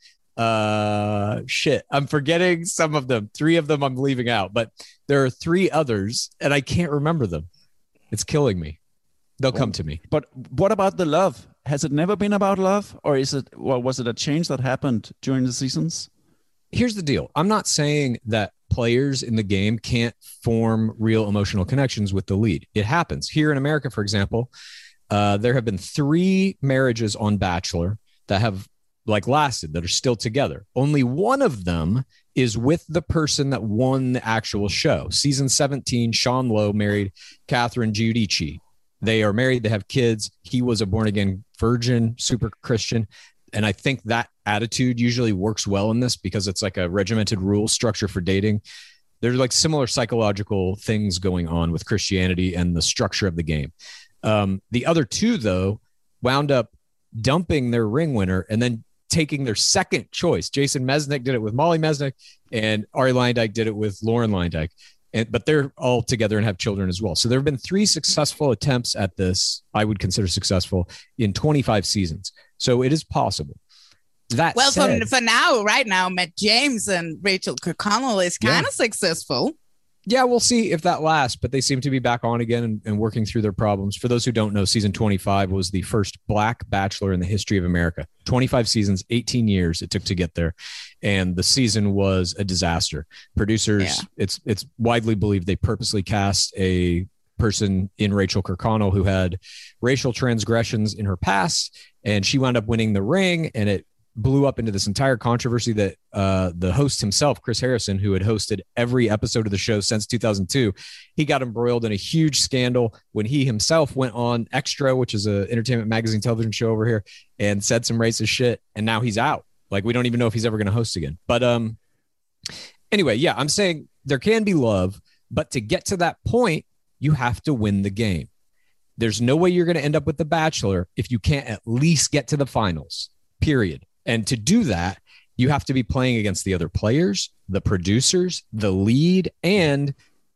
I'm forgetting some of them. 3 of them I'm leaving out, but there are 3 others, and I can't remember them. It's killing me. They'll come to me. But what about the love? Has it never been about love, or was it a change that happened during the seasons? Here's the deal. I'm not saying that players in the game can't form real emotional connections with the lead. It happens. Here in America, for example, there have been 3 marriages on Bachelor that have lasted, that are still together. Only one of them is with the person that won the actual show. Season 17, Sean Lowe married Catherine Giudice. They are married. They have kids. He was a born-again virgin, super Christian. And I think that attitude usually works well in this because it's like a regimented rule structure for dating. There's like similar psychological things going on with Christianity and the structure of the game. The other 2, though, wound up dumping their ring winner and then taking their second choice. Jason Mesnick did it with Molly Mesnick, and Ari Luyendyk did it with Lauren Luyendyk. But they're all together and have children as well. So there have been 3 successful attempts at this, I would consider successful, in 25 seasons. So it is possible. That said, for now, right now, Matt James and Rachel Kirkconnell is kind of successful. Yeah, we'll see if that lasts, but they seem to be back on again and working through their problems. For those who don't know, season 25 was the first Black Bachelor in the history of America. 25 seasons, 18 years it took to get there. And the season was a disaster. Producers, it's widely believed they purposely cast a person in Rachel Kirkconnell who had racial transgressions in her past, and she wound up winning the ring, and it blew up into this entire controversy that the host himself, Chris Harrison, who had hosted every episode of the show since 2002, he got embroiled in a huge scandal when he himself went on Extra, which is an entertainment magazine television show over here, and said some racist shit. And now he's out. Like, we don't even know if he's ever going to host again. But anyway, yeah, I'm saying there can be love, but to get to that point, you have to win the game. There's no way you're going to end up with The Bachelor if you can't at least get to the finals, period. And to do that, you have to be playing against the other players, the producers, the lead, and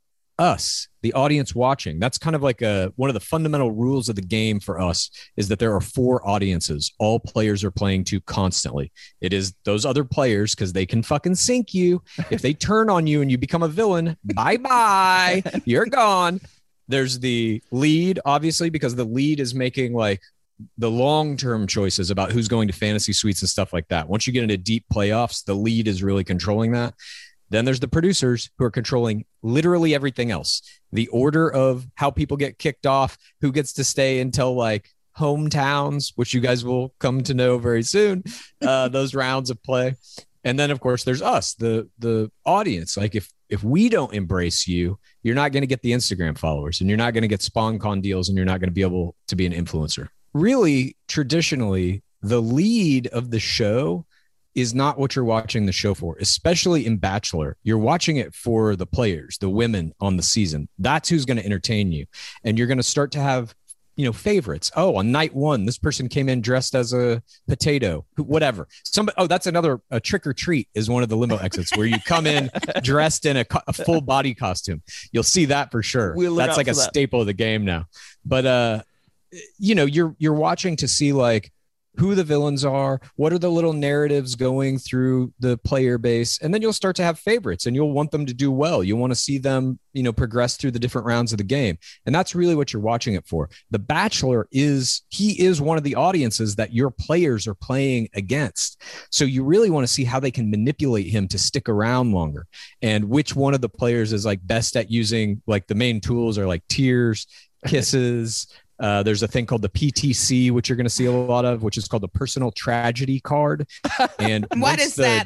us, the audience watching. That's kind of like one of the fundamental rules of the game for us is that there are 4 audiences. All players are playing to constantly. It is those other players because they can fucking sink you. If they turn on you and you become a villain, bye-bye, you're gone. There's the lead, obviously, because the lead is making like the long-term choices about who's going to fantasy suites and stuff like that. Once you get into deep playoffs, the lead is really controlling that. Then there's the producers who are controlling literally everything else. The order of how people get kicked off, who gets to stay until like hometowns, which you guys will come to know very soon, those rounds of play. And then, of course, there's us, the audience. Like if we don't embrace you, you're not going to get the Instagram followers, and you're not going to get SpawnCon deals, and you're not going to be able to be an influencer. Really, traditionally, the lead of the show is not what you're watching the show for, especially in Bachelor. You're watching it for the players, the women on the season. That's who's going to entertain you. And you're going to start to have, favorites. Oh, on night 1, this person came in dressed as a potato, whatever. That's another trick or treat is one of the limo exits where you come in dressed in a full body costume. You'll see that for sure. That's like a staple of the game now. But, you're watching to see like who the villains are, what are the little narratives going through the player base, and then you'll start to have favorites and you'll want them to do well. You want to see them, progress through the different rounds of the game. And that's really what you're watching it for. The Bachelor is one of the audiences that your players are playing against. So you really want to see how they can manipulate him to stick around longer, and which one of the players is like best at using, like, the main tools are like tears, kisses. There's a thing called the PTC, which you're going to see a lot of, which is called the personal tragedy card. And What is that?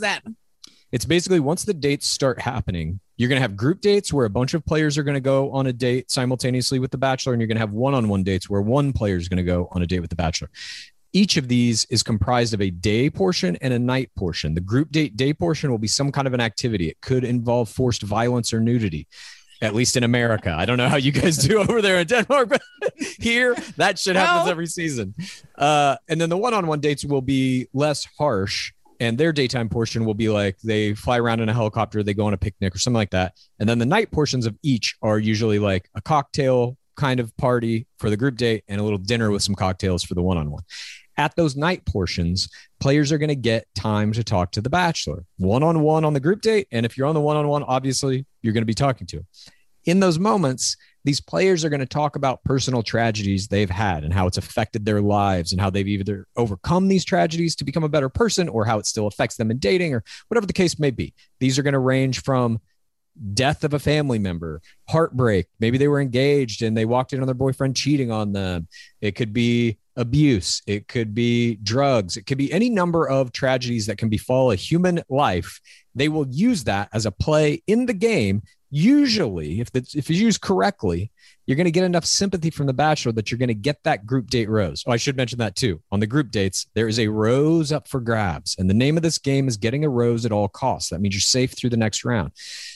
It's basically, once the dates start happening, you're going to have group dates where a bunch of players are going to go on a date simultaneously with the Bachelor, and you're going to have one-on-one dates where one player is going to go on a date with the Bachelor. Each of these is comprised of a day portion and a night portion. The group date day portion will be some kind of an activity. It could involve forced violence or nudity. At least in America. I don't know how you guys do over there in Denmark, but here that shit happens every season. And then the one-on-one dates will be less harsh, and their daytime portion will be like they fly around in a helicopter, they go on a picnic or something like that. And then the night portions of each are usually like a cocktail kind of party for the group date and a little dinner with some cocktails for the one-on-one. At those night portions, players are going to get time to talk to the Bachelor one-on-one on the group date. And if you're on the one-on-one, obviously you're going to be talking to him. In those moments, these players are going to talk about personal tragedies they've had and how it's affected their lives and how they've either overcome these tragedies to become a better person or how it still affects them in dating or whatever the case may be. These are going to range from death of a family member, heartbreak. Maybe they were engaged and they walked in on their boyfriend cheating on them. It could be abuse. It could be drugs. It could be any number of tragedies that can befall a human life. They will use that as a play in the game. Usually, if it's used correctly, you're going to get enough sympathy from the Bachelor that you're going to get that group date rose. Oh, I should mention that too. On the group dates, there is a rose up for grabs. And the name of this game is getting a rose at all costs. That means you're safe through the next round.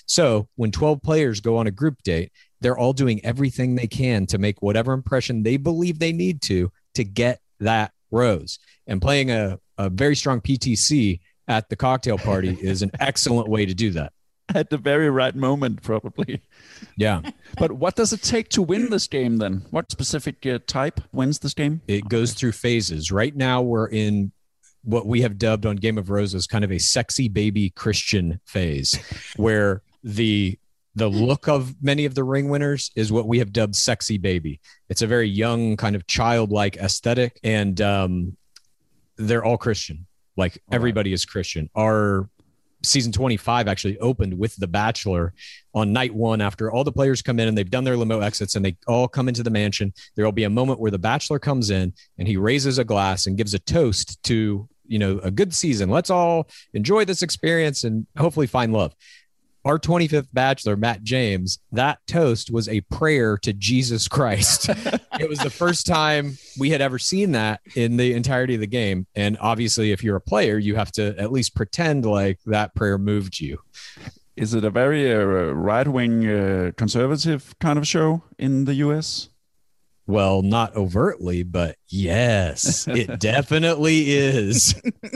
So when 12 players go on a group date, they're all doing everything they can to make whatever impression they believe they need to get that rose. And playing a very strong PTC at the cocktail party is an excellent way to do that. At the very right moment, probably. Yeah. But what does it take to win this game then? What specific type wins this game? It goes through phases. Right now, we're in what we have dubbed on Game of Roses kind of a sexy baby Christian phase, where the look of many of the ring winners is what we have dubbed sexy baby. It's a very young, kind of childlike aesthetic, and they're all Christian. Like, everybody is Christian. Our season 25 actually opened with The Bachelor on night one. After all the players come in and they've done their limo exits and they all come into the mansion, there will be a moment where The Bachelor comes in and he raises a glass and gives a toast to, a good season. Let's all enjoy this experience and hopefully find love. Our 25th Bachelor, Matt James, that toast was a prayer to Jesus Christ. It was the first time we had ever seen that in the entirety of the game. And obviously, if you're a player, you have to at least pretend like that prayer moved you. Is it a very right-wing conservative kind of show in the US? Well, not overtly, but yes, it definitely is.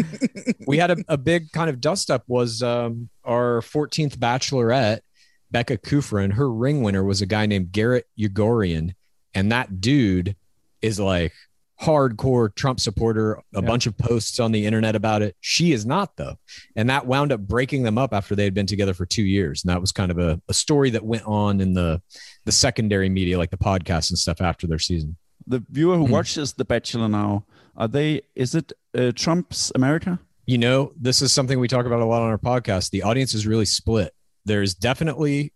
We had a big kind of dust-up was our 14th Bachelorette, Becca Kufrin. Her ring winner was a guy named Garrett Ugorian, and that dude is like hardcore Trump supporter, a bunch of posts on the internet about it. She is not, though. And that wound up breaking them up after they had been together for 2 years. And that was kind of a story that went on in the secondary media, like the podcasts and stuff after their season. The viewer who watches The Bachelor now, is it Trump's America? This is something we talk about a lot on our podcast. The audience is really split. There's definitely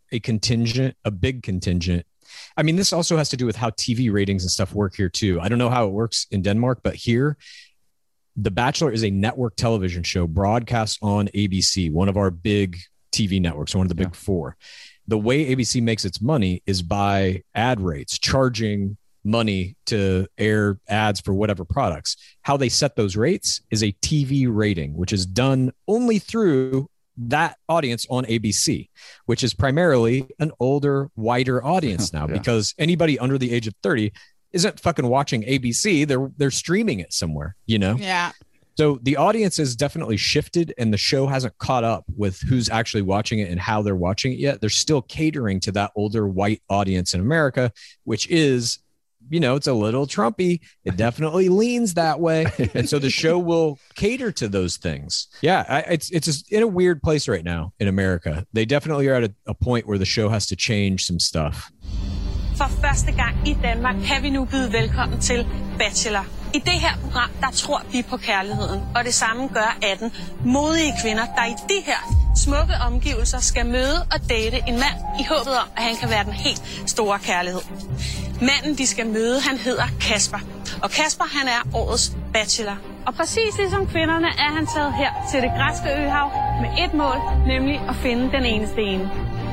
a big contingent. I mean, this also has to do with how TV ratings and stuff work here too. I don't know how it works in Denmark, but here, The Bachelor is a network television show broadcast on ABC, one of our big TV networks, one of the big four. The way ABC makes its money is by ad rates, charging money to air ads for whatever products. How they set those rates is a TV rating, which is done only through that audience on ABC, which is primarily an older, whiter audience now, because anybody under the age of 30 isn't fucking watching ABC. They're streaming it somewhere, Yeah. So the audience has definitely shifted, and the show hasn't caught up with who's actually watching it and how they're watching it yet. They're still catering to that older white audience in America, which is it's a little Trumpy. It definitely leans that way. And so the show will cater to those things. Yeah, it's just in a weird place right now in America. They definitely are at a point where the show has to change some stuff. For første gang i Danmark kan vi nu byde velkommen til Bachelor. I det her program, der tror vi på kærligheden, og det samme gør 18 modige kvinder, der i de her smukke omgivelser skal møde og date en mand i håbet om, at han kan være den helt store kærlighed. Manden, de skal møde, han hedder Kasper. Og Kasper, han er årets bachelor. Og præcis ligesom kvinderne er han taget her til det græske øhav med et mål, nemlig at finde den eneste ene.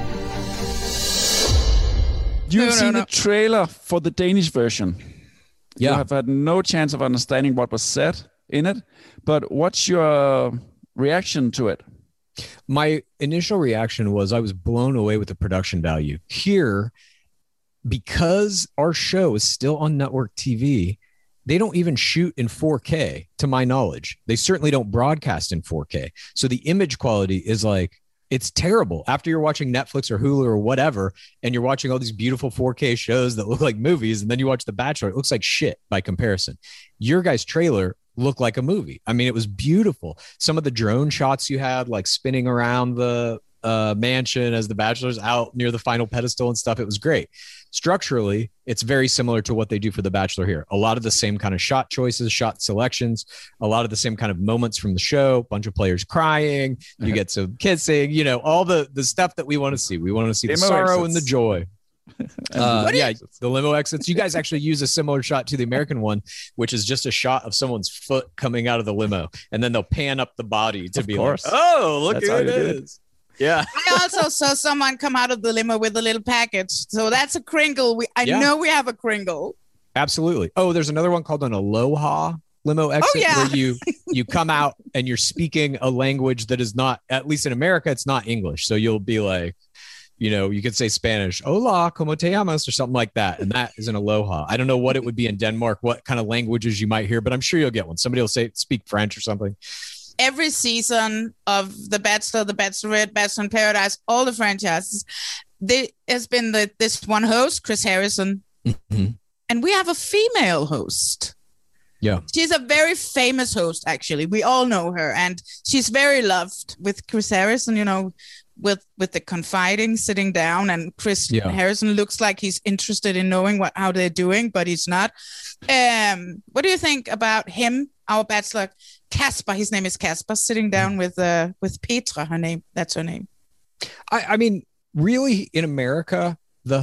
You've seen the trailer for the Danish version. Yeah. You have had no chance of understanding what was said in it, but what's your reaction to it? My initial reaction was I was blown away with the production value. Here, because our show is still on network TV, they don't even shoot in 4K, to my knowledge. They certainly don't broadcast in 4K. So the image quality is like, it's terrible. After you're watching Netflix or Hulu or whatever, and you're watching all these beautiful 4K shows that look like movies, and then you watch The Bachelor, it looks like shit by comparison. Your guys' trailer looked like a movie. I mean, it was beautiful. Some of the drone shots you had, like spinning around the mansion as the Bachelor's out near the final pedestal and stuff, it was great. Structurally, it's very similar to what they do for The Bachelor here. A lot of the same kind of shot choices, shot selections, a lot of the same kind of moments from the show, bunch of players crying, you get some kissing, all the stuff that we want to see. We want to see the sorrow and the joy. The limo exits. You guys actually use a similar shot to the American one, which is just a shot of someone's foot coming out of the limo, and then they'll pan up the body to be like, oh, look who it is. Yeah. I also saw someone come out of the limo with a little package. So that's a Kringle. I know we have a Kringle. Absolutely. Oh, there's another one called an Aloha limo exit where you come out and you're speaking a language that is not, at least in America, it's not English. So you'll be like, you could say Spanish, hola, como te llamas, or something like that. And that is an Aloha. I don't know what it would be in Denmark, what kind of languages you might hear, but I'm sure you'll get one. Somebody will speak French or something. Every season of The Bachelor, The Bachelorette, Bachelor in Paradise, all the franchises, there has been this one host, Chris Harrison, and we have a female host. Yeah. She's a very famous host, actually. We all know her, and she's very loved with Chris Harrison, with the confiding, sitting down, and Chris Harrison looks like he's interested in knowing how they're doing, but he's not. What do you think about him, our bachelor, Kasper? His name is Kasper, sitting down with Petra. That's her name. I mean, really, in America,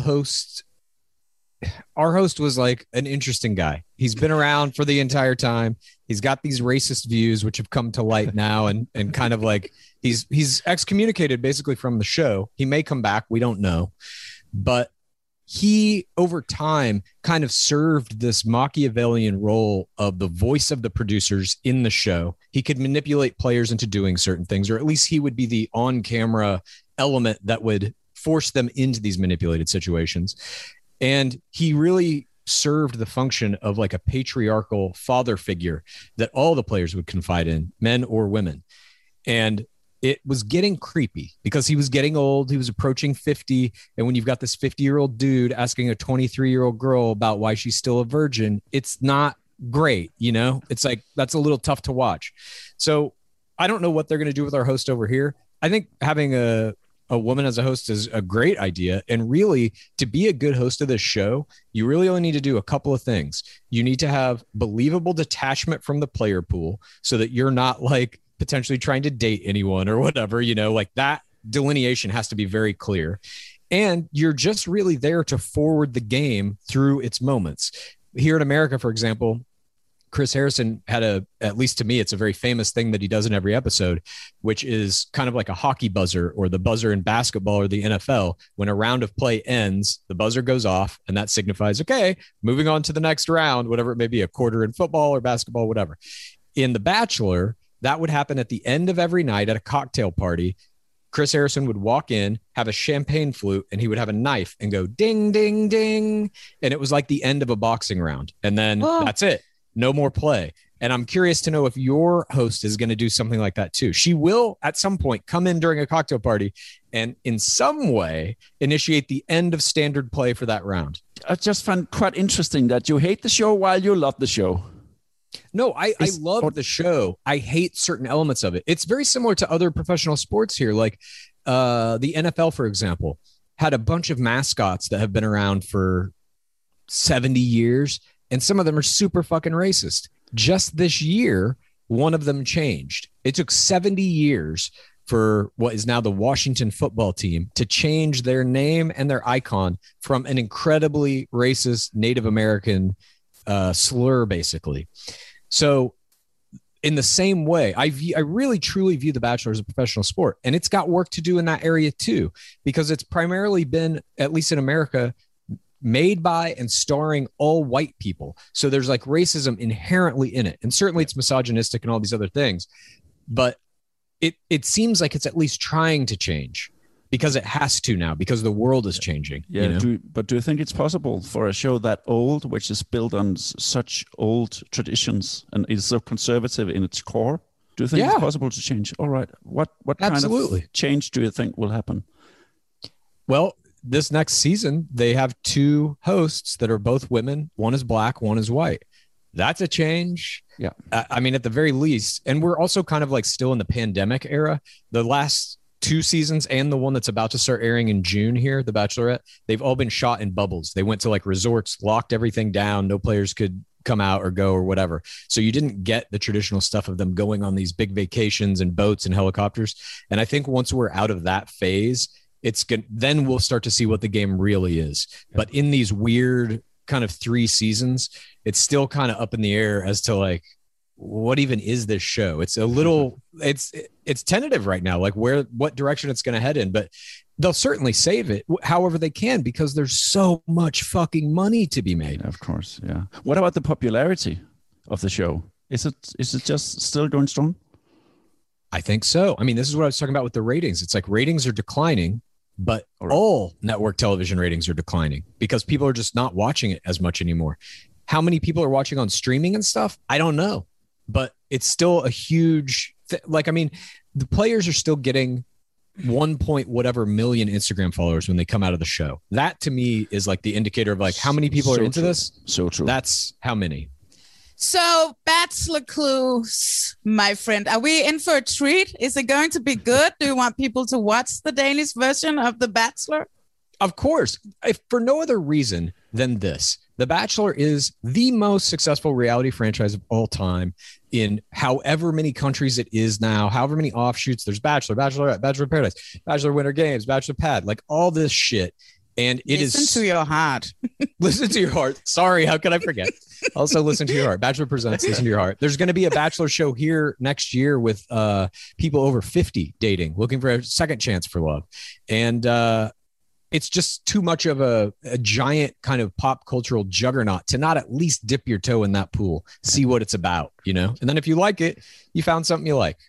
our host was like an interesting guy. He's been around for the entire time. He's got these racist views, which have come to light now, and kind of like he's excommunicated basically from the show. He may come back. We don't know. But he, over time, kind of served this Machiavellian role of the voice of the producers in the show. He could manipulate players into doing certain things, or at least he would be the on-camera element that would force them into these manipulated situations. And he really served the function of like a patriarchal father figure that all the players would confide in, men or women. And it was getting creepy because he was getting old. He was approaching 50. And when you've got this 50-year-old dude asking a 23-year-old girl about why she's still a virgin, it's not great. It's like, that's a little tough to watch. So I don't know what they're going to do with our host over here. I think having a woman as a host is a great idea. And really, to be a good host of this show, you really only need to do a couple of things. You need to have believable detachment from the player pool so that you're not like potentially trying to date anyone or whatever, like that delineation has to be very clear. And you're just really there to forward the game through its moments. Here in America, for example, Chris Harrison had at least to me, it's a very famous thing that he does in every episode, which is kind of like a hockey buzzer or the buzzer in basketball or the NFL. When a round of play ends, the buzzer goes off and that signifies, okay, moving on to the next round, whatever it may be, a quarter in football or basketball, whatever. In The Bachelor, that would happen at the end of every night at a cocktail party. Chris Harrison would walk in, have a champagne flute, and he would have a knife and go ding, ding, ding. And it was like the end of a boxing round. And then that's it. No more play. And I'm curious to know if your host is going to do something like that too. She will at some point come in during a cocktail party and in some way initiate the end of standard play for that round. I just find quite interesting that you hate the show while you love the show. No, I love the show. I hate certain elements of it. It's very similar to other professional sports here. Like the NFL, for example, had a bunch of mascots that have been around for 70 years, and some of them are super fucking racist. Just this year, one of them changed. It took 70 years for what is now the Washington football team to change their name and their icon from an incredibly racist Native American slur, basically. So in the same way, I really truly view The Bachelor as a professional sport, and it's got work to do in that area too, because it's primarily been, at least in America, made by and starring all white people. So there's like racism inherently in it. And certainly it's misogynistic and all these other things, but it seems like it's at least trying to change because it has to now, because the world is changing. Yeah. You know? But do you think it's possible for a show that old, which is built on such old traditions and is so conservative in its core? Do you think it's possible to change? All right. What kind of change do you think will happen? Well, this next season, they have 2 hosts that are both women. One is black, one is white. That's a change. Yeah. I mean, at the very least, and we're also kind of like still in the pandemic era. The last 2 seasons and the one that's about to start airing in June here, The Bachelorette, they've all been shot in bubbles. They went to like resorts, locked everything down. No players could come out or go or whatever. So you didn't get the traditional stuff of them going on these big vacations and boats and helicopters. And I think once we're out of that phase, it's good. Then we'll start to see what the game really is. But in these weird kind of 3 seasons, it's still kind of up in the air as to like, what even is this show? It's a little, it's tentative right now, like what direction it's going to head in, but they'll certainly save it however they can, because there's so much fucking money to be made. Of course. Yeah. What about the popularity of the show? Is it just still going strong? I think so. I mean, this is what I was talking about with the ratings. It's like ratings are declining, but all network television ratings are declining because people are just not watching it as much anymore. How many people are watching on streaming and stuff? I don't know, but it's still a huge like, I mean, the players are still getting 1 point whatever million Instagram followers when they come out of the show. That to me is like the indicator of like how many people are into this. So true. That's how many. So, Bachelor clues, my friend. Are we in for a treat? Is it going to be good? Do you want people to watch the Danish version of The Bachelor? Of course. If for no other reason than this. The Bachelor is the most successful reality franchise of all time in however many countries it is now, however many offshoots. There's Bachelor, Bachelorette, Bachelor of Paradise, Bachelor Winter Games, Bachelor Pad, like all this shit. And it listen to your heart. Listen to your heart. Sorry, how could I forget? Also listen to your heart. Bachelor Presents, listen to your heart. There's going to be a Bachelor show here next year with people over 50 dating, looking for a second chance for love. And it's just too much of a giant kind of pop cultural juggernaut to not at least dip your toe in that pool, see what it's about, you know? And then if you like it, you found something you like.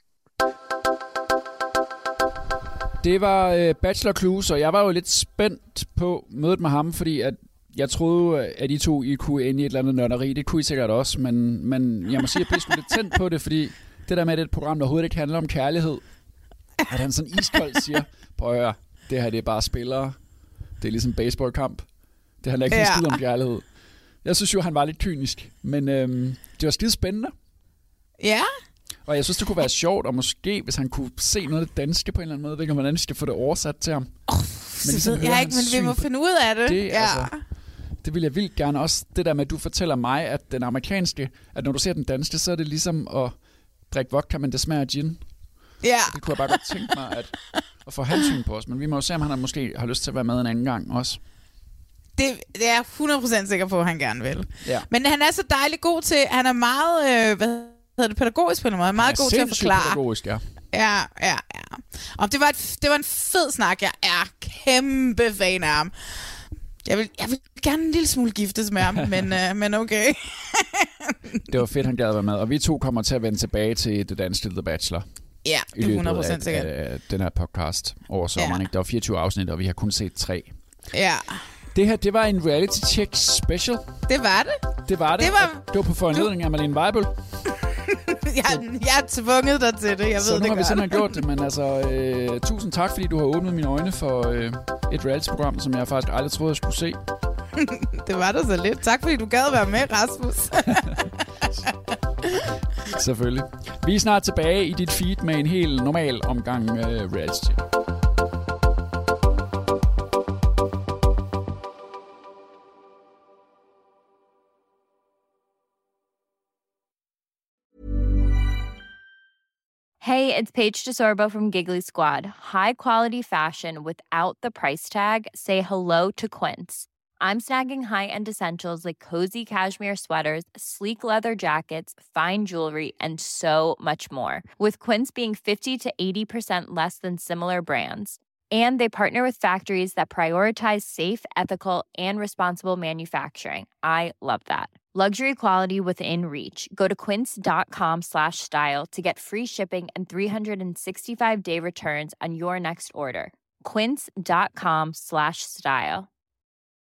Det var Bachelor Clues, og jeg var jo lidt spændt på mødet med ham, fordi at jeg troede, at I to I kunne ende i et eller andet nørderi. Det kunne I sikkert også, men jeg må sige, at jeg blev sgu lidt tændt på det, fordi det der med, at det er et program, der overhovedet ikke handler om kærlighed, at han sådan iskoldt siger, prøv at høre, det her det er bare spillere. Det er ligesom en baseballkamp. Det handler ikke en skid om kærlighed. Jeg synes jo, han var lidt kynisk, men det var skide spændende. Ja. Og jeg synes, det kunne være sjovt, og måske, hvis han kunne se noget af det danske på en eller anden måde, ved ikke, hvordan vi skal få det oversat til ham. Men ligesom jeg ikke, men vi må finde ud af det. Det vil jeg vildt gerne. Også det der med, at du fortæller mig, at den amerikanske, at når du ser den danske, så er det ligesom at drikke vodka, men det smager gin. Ja. Det kunne jeg bare godt tænke mig at få hensyn på os. Men vi må jo se, om han måske har lyst til at være med en anden gang også. Det er jeg 100% sikker på, at han gerne vil. Ja. Men han er så dejlig god til, han er meget, pædagogisk på en måde. Meget god til at forklare. Pædagogisk, ja. Ja. Og det var en fed snak. Jeg er kæmpe fan af ham. Jeg vil gerne en lille smule giftes med ham, men okay. Det var fedt, han gad at være med. Og vi to kommer til at vende tilbage til det danske The Bachelor. Ja, det er 100% sikkert. Af den her podcast over sommeren. Ikke? Der var 24 afsnit, og vi har kun set 3. Ja. Det her, det var en reality check special. Det var det. Det var på foranledning af Malene Weibel. Jeg er tvunget dig til det, jeg så ved det godt. Så nu har vi simpelthen gjort det, men altså, tusind tak, fordi du har åbnet mine øjne for et reality-program, som jeg faktisk aldrig troede, jeg skulle se. Det var da så lidt. Tak, fordi du gad være med, Rasmus. Selvfølgelig. Vi er snart tilbage i dit feed med en helt normal omgang reality. Hey, it's Paige DeSorbo from Giggly Squad. High quality fashion without the price tag. Say hello to Quince. I'm snagging high-end essentials like cozy cashmere sweaters, sleek leather jackets, fine jewelry, and so much more. With Quince being 50 to 80% less than similar brands. And they partner with factories that prioritize safe, ethical, and responsible manufacturing. I love that. Luxury quality within reach. Go to quince.com/style to get free shipping and 365-day returns on your next order. Quince.com/style.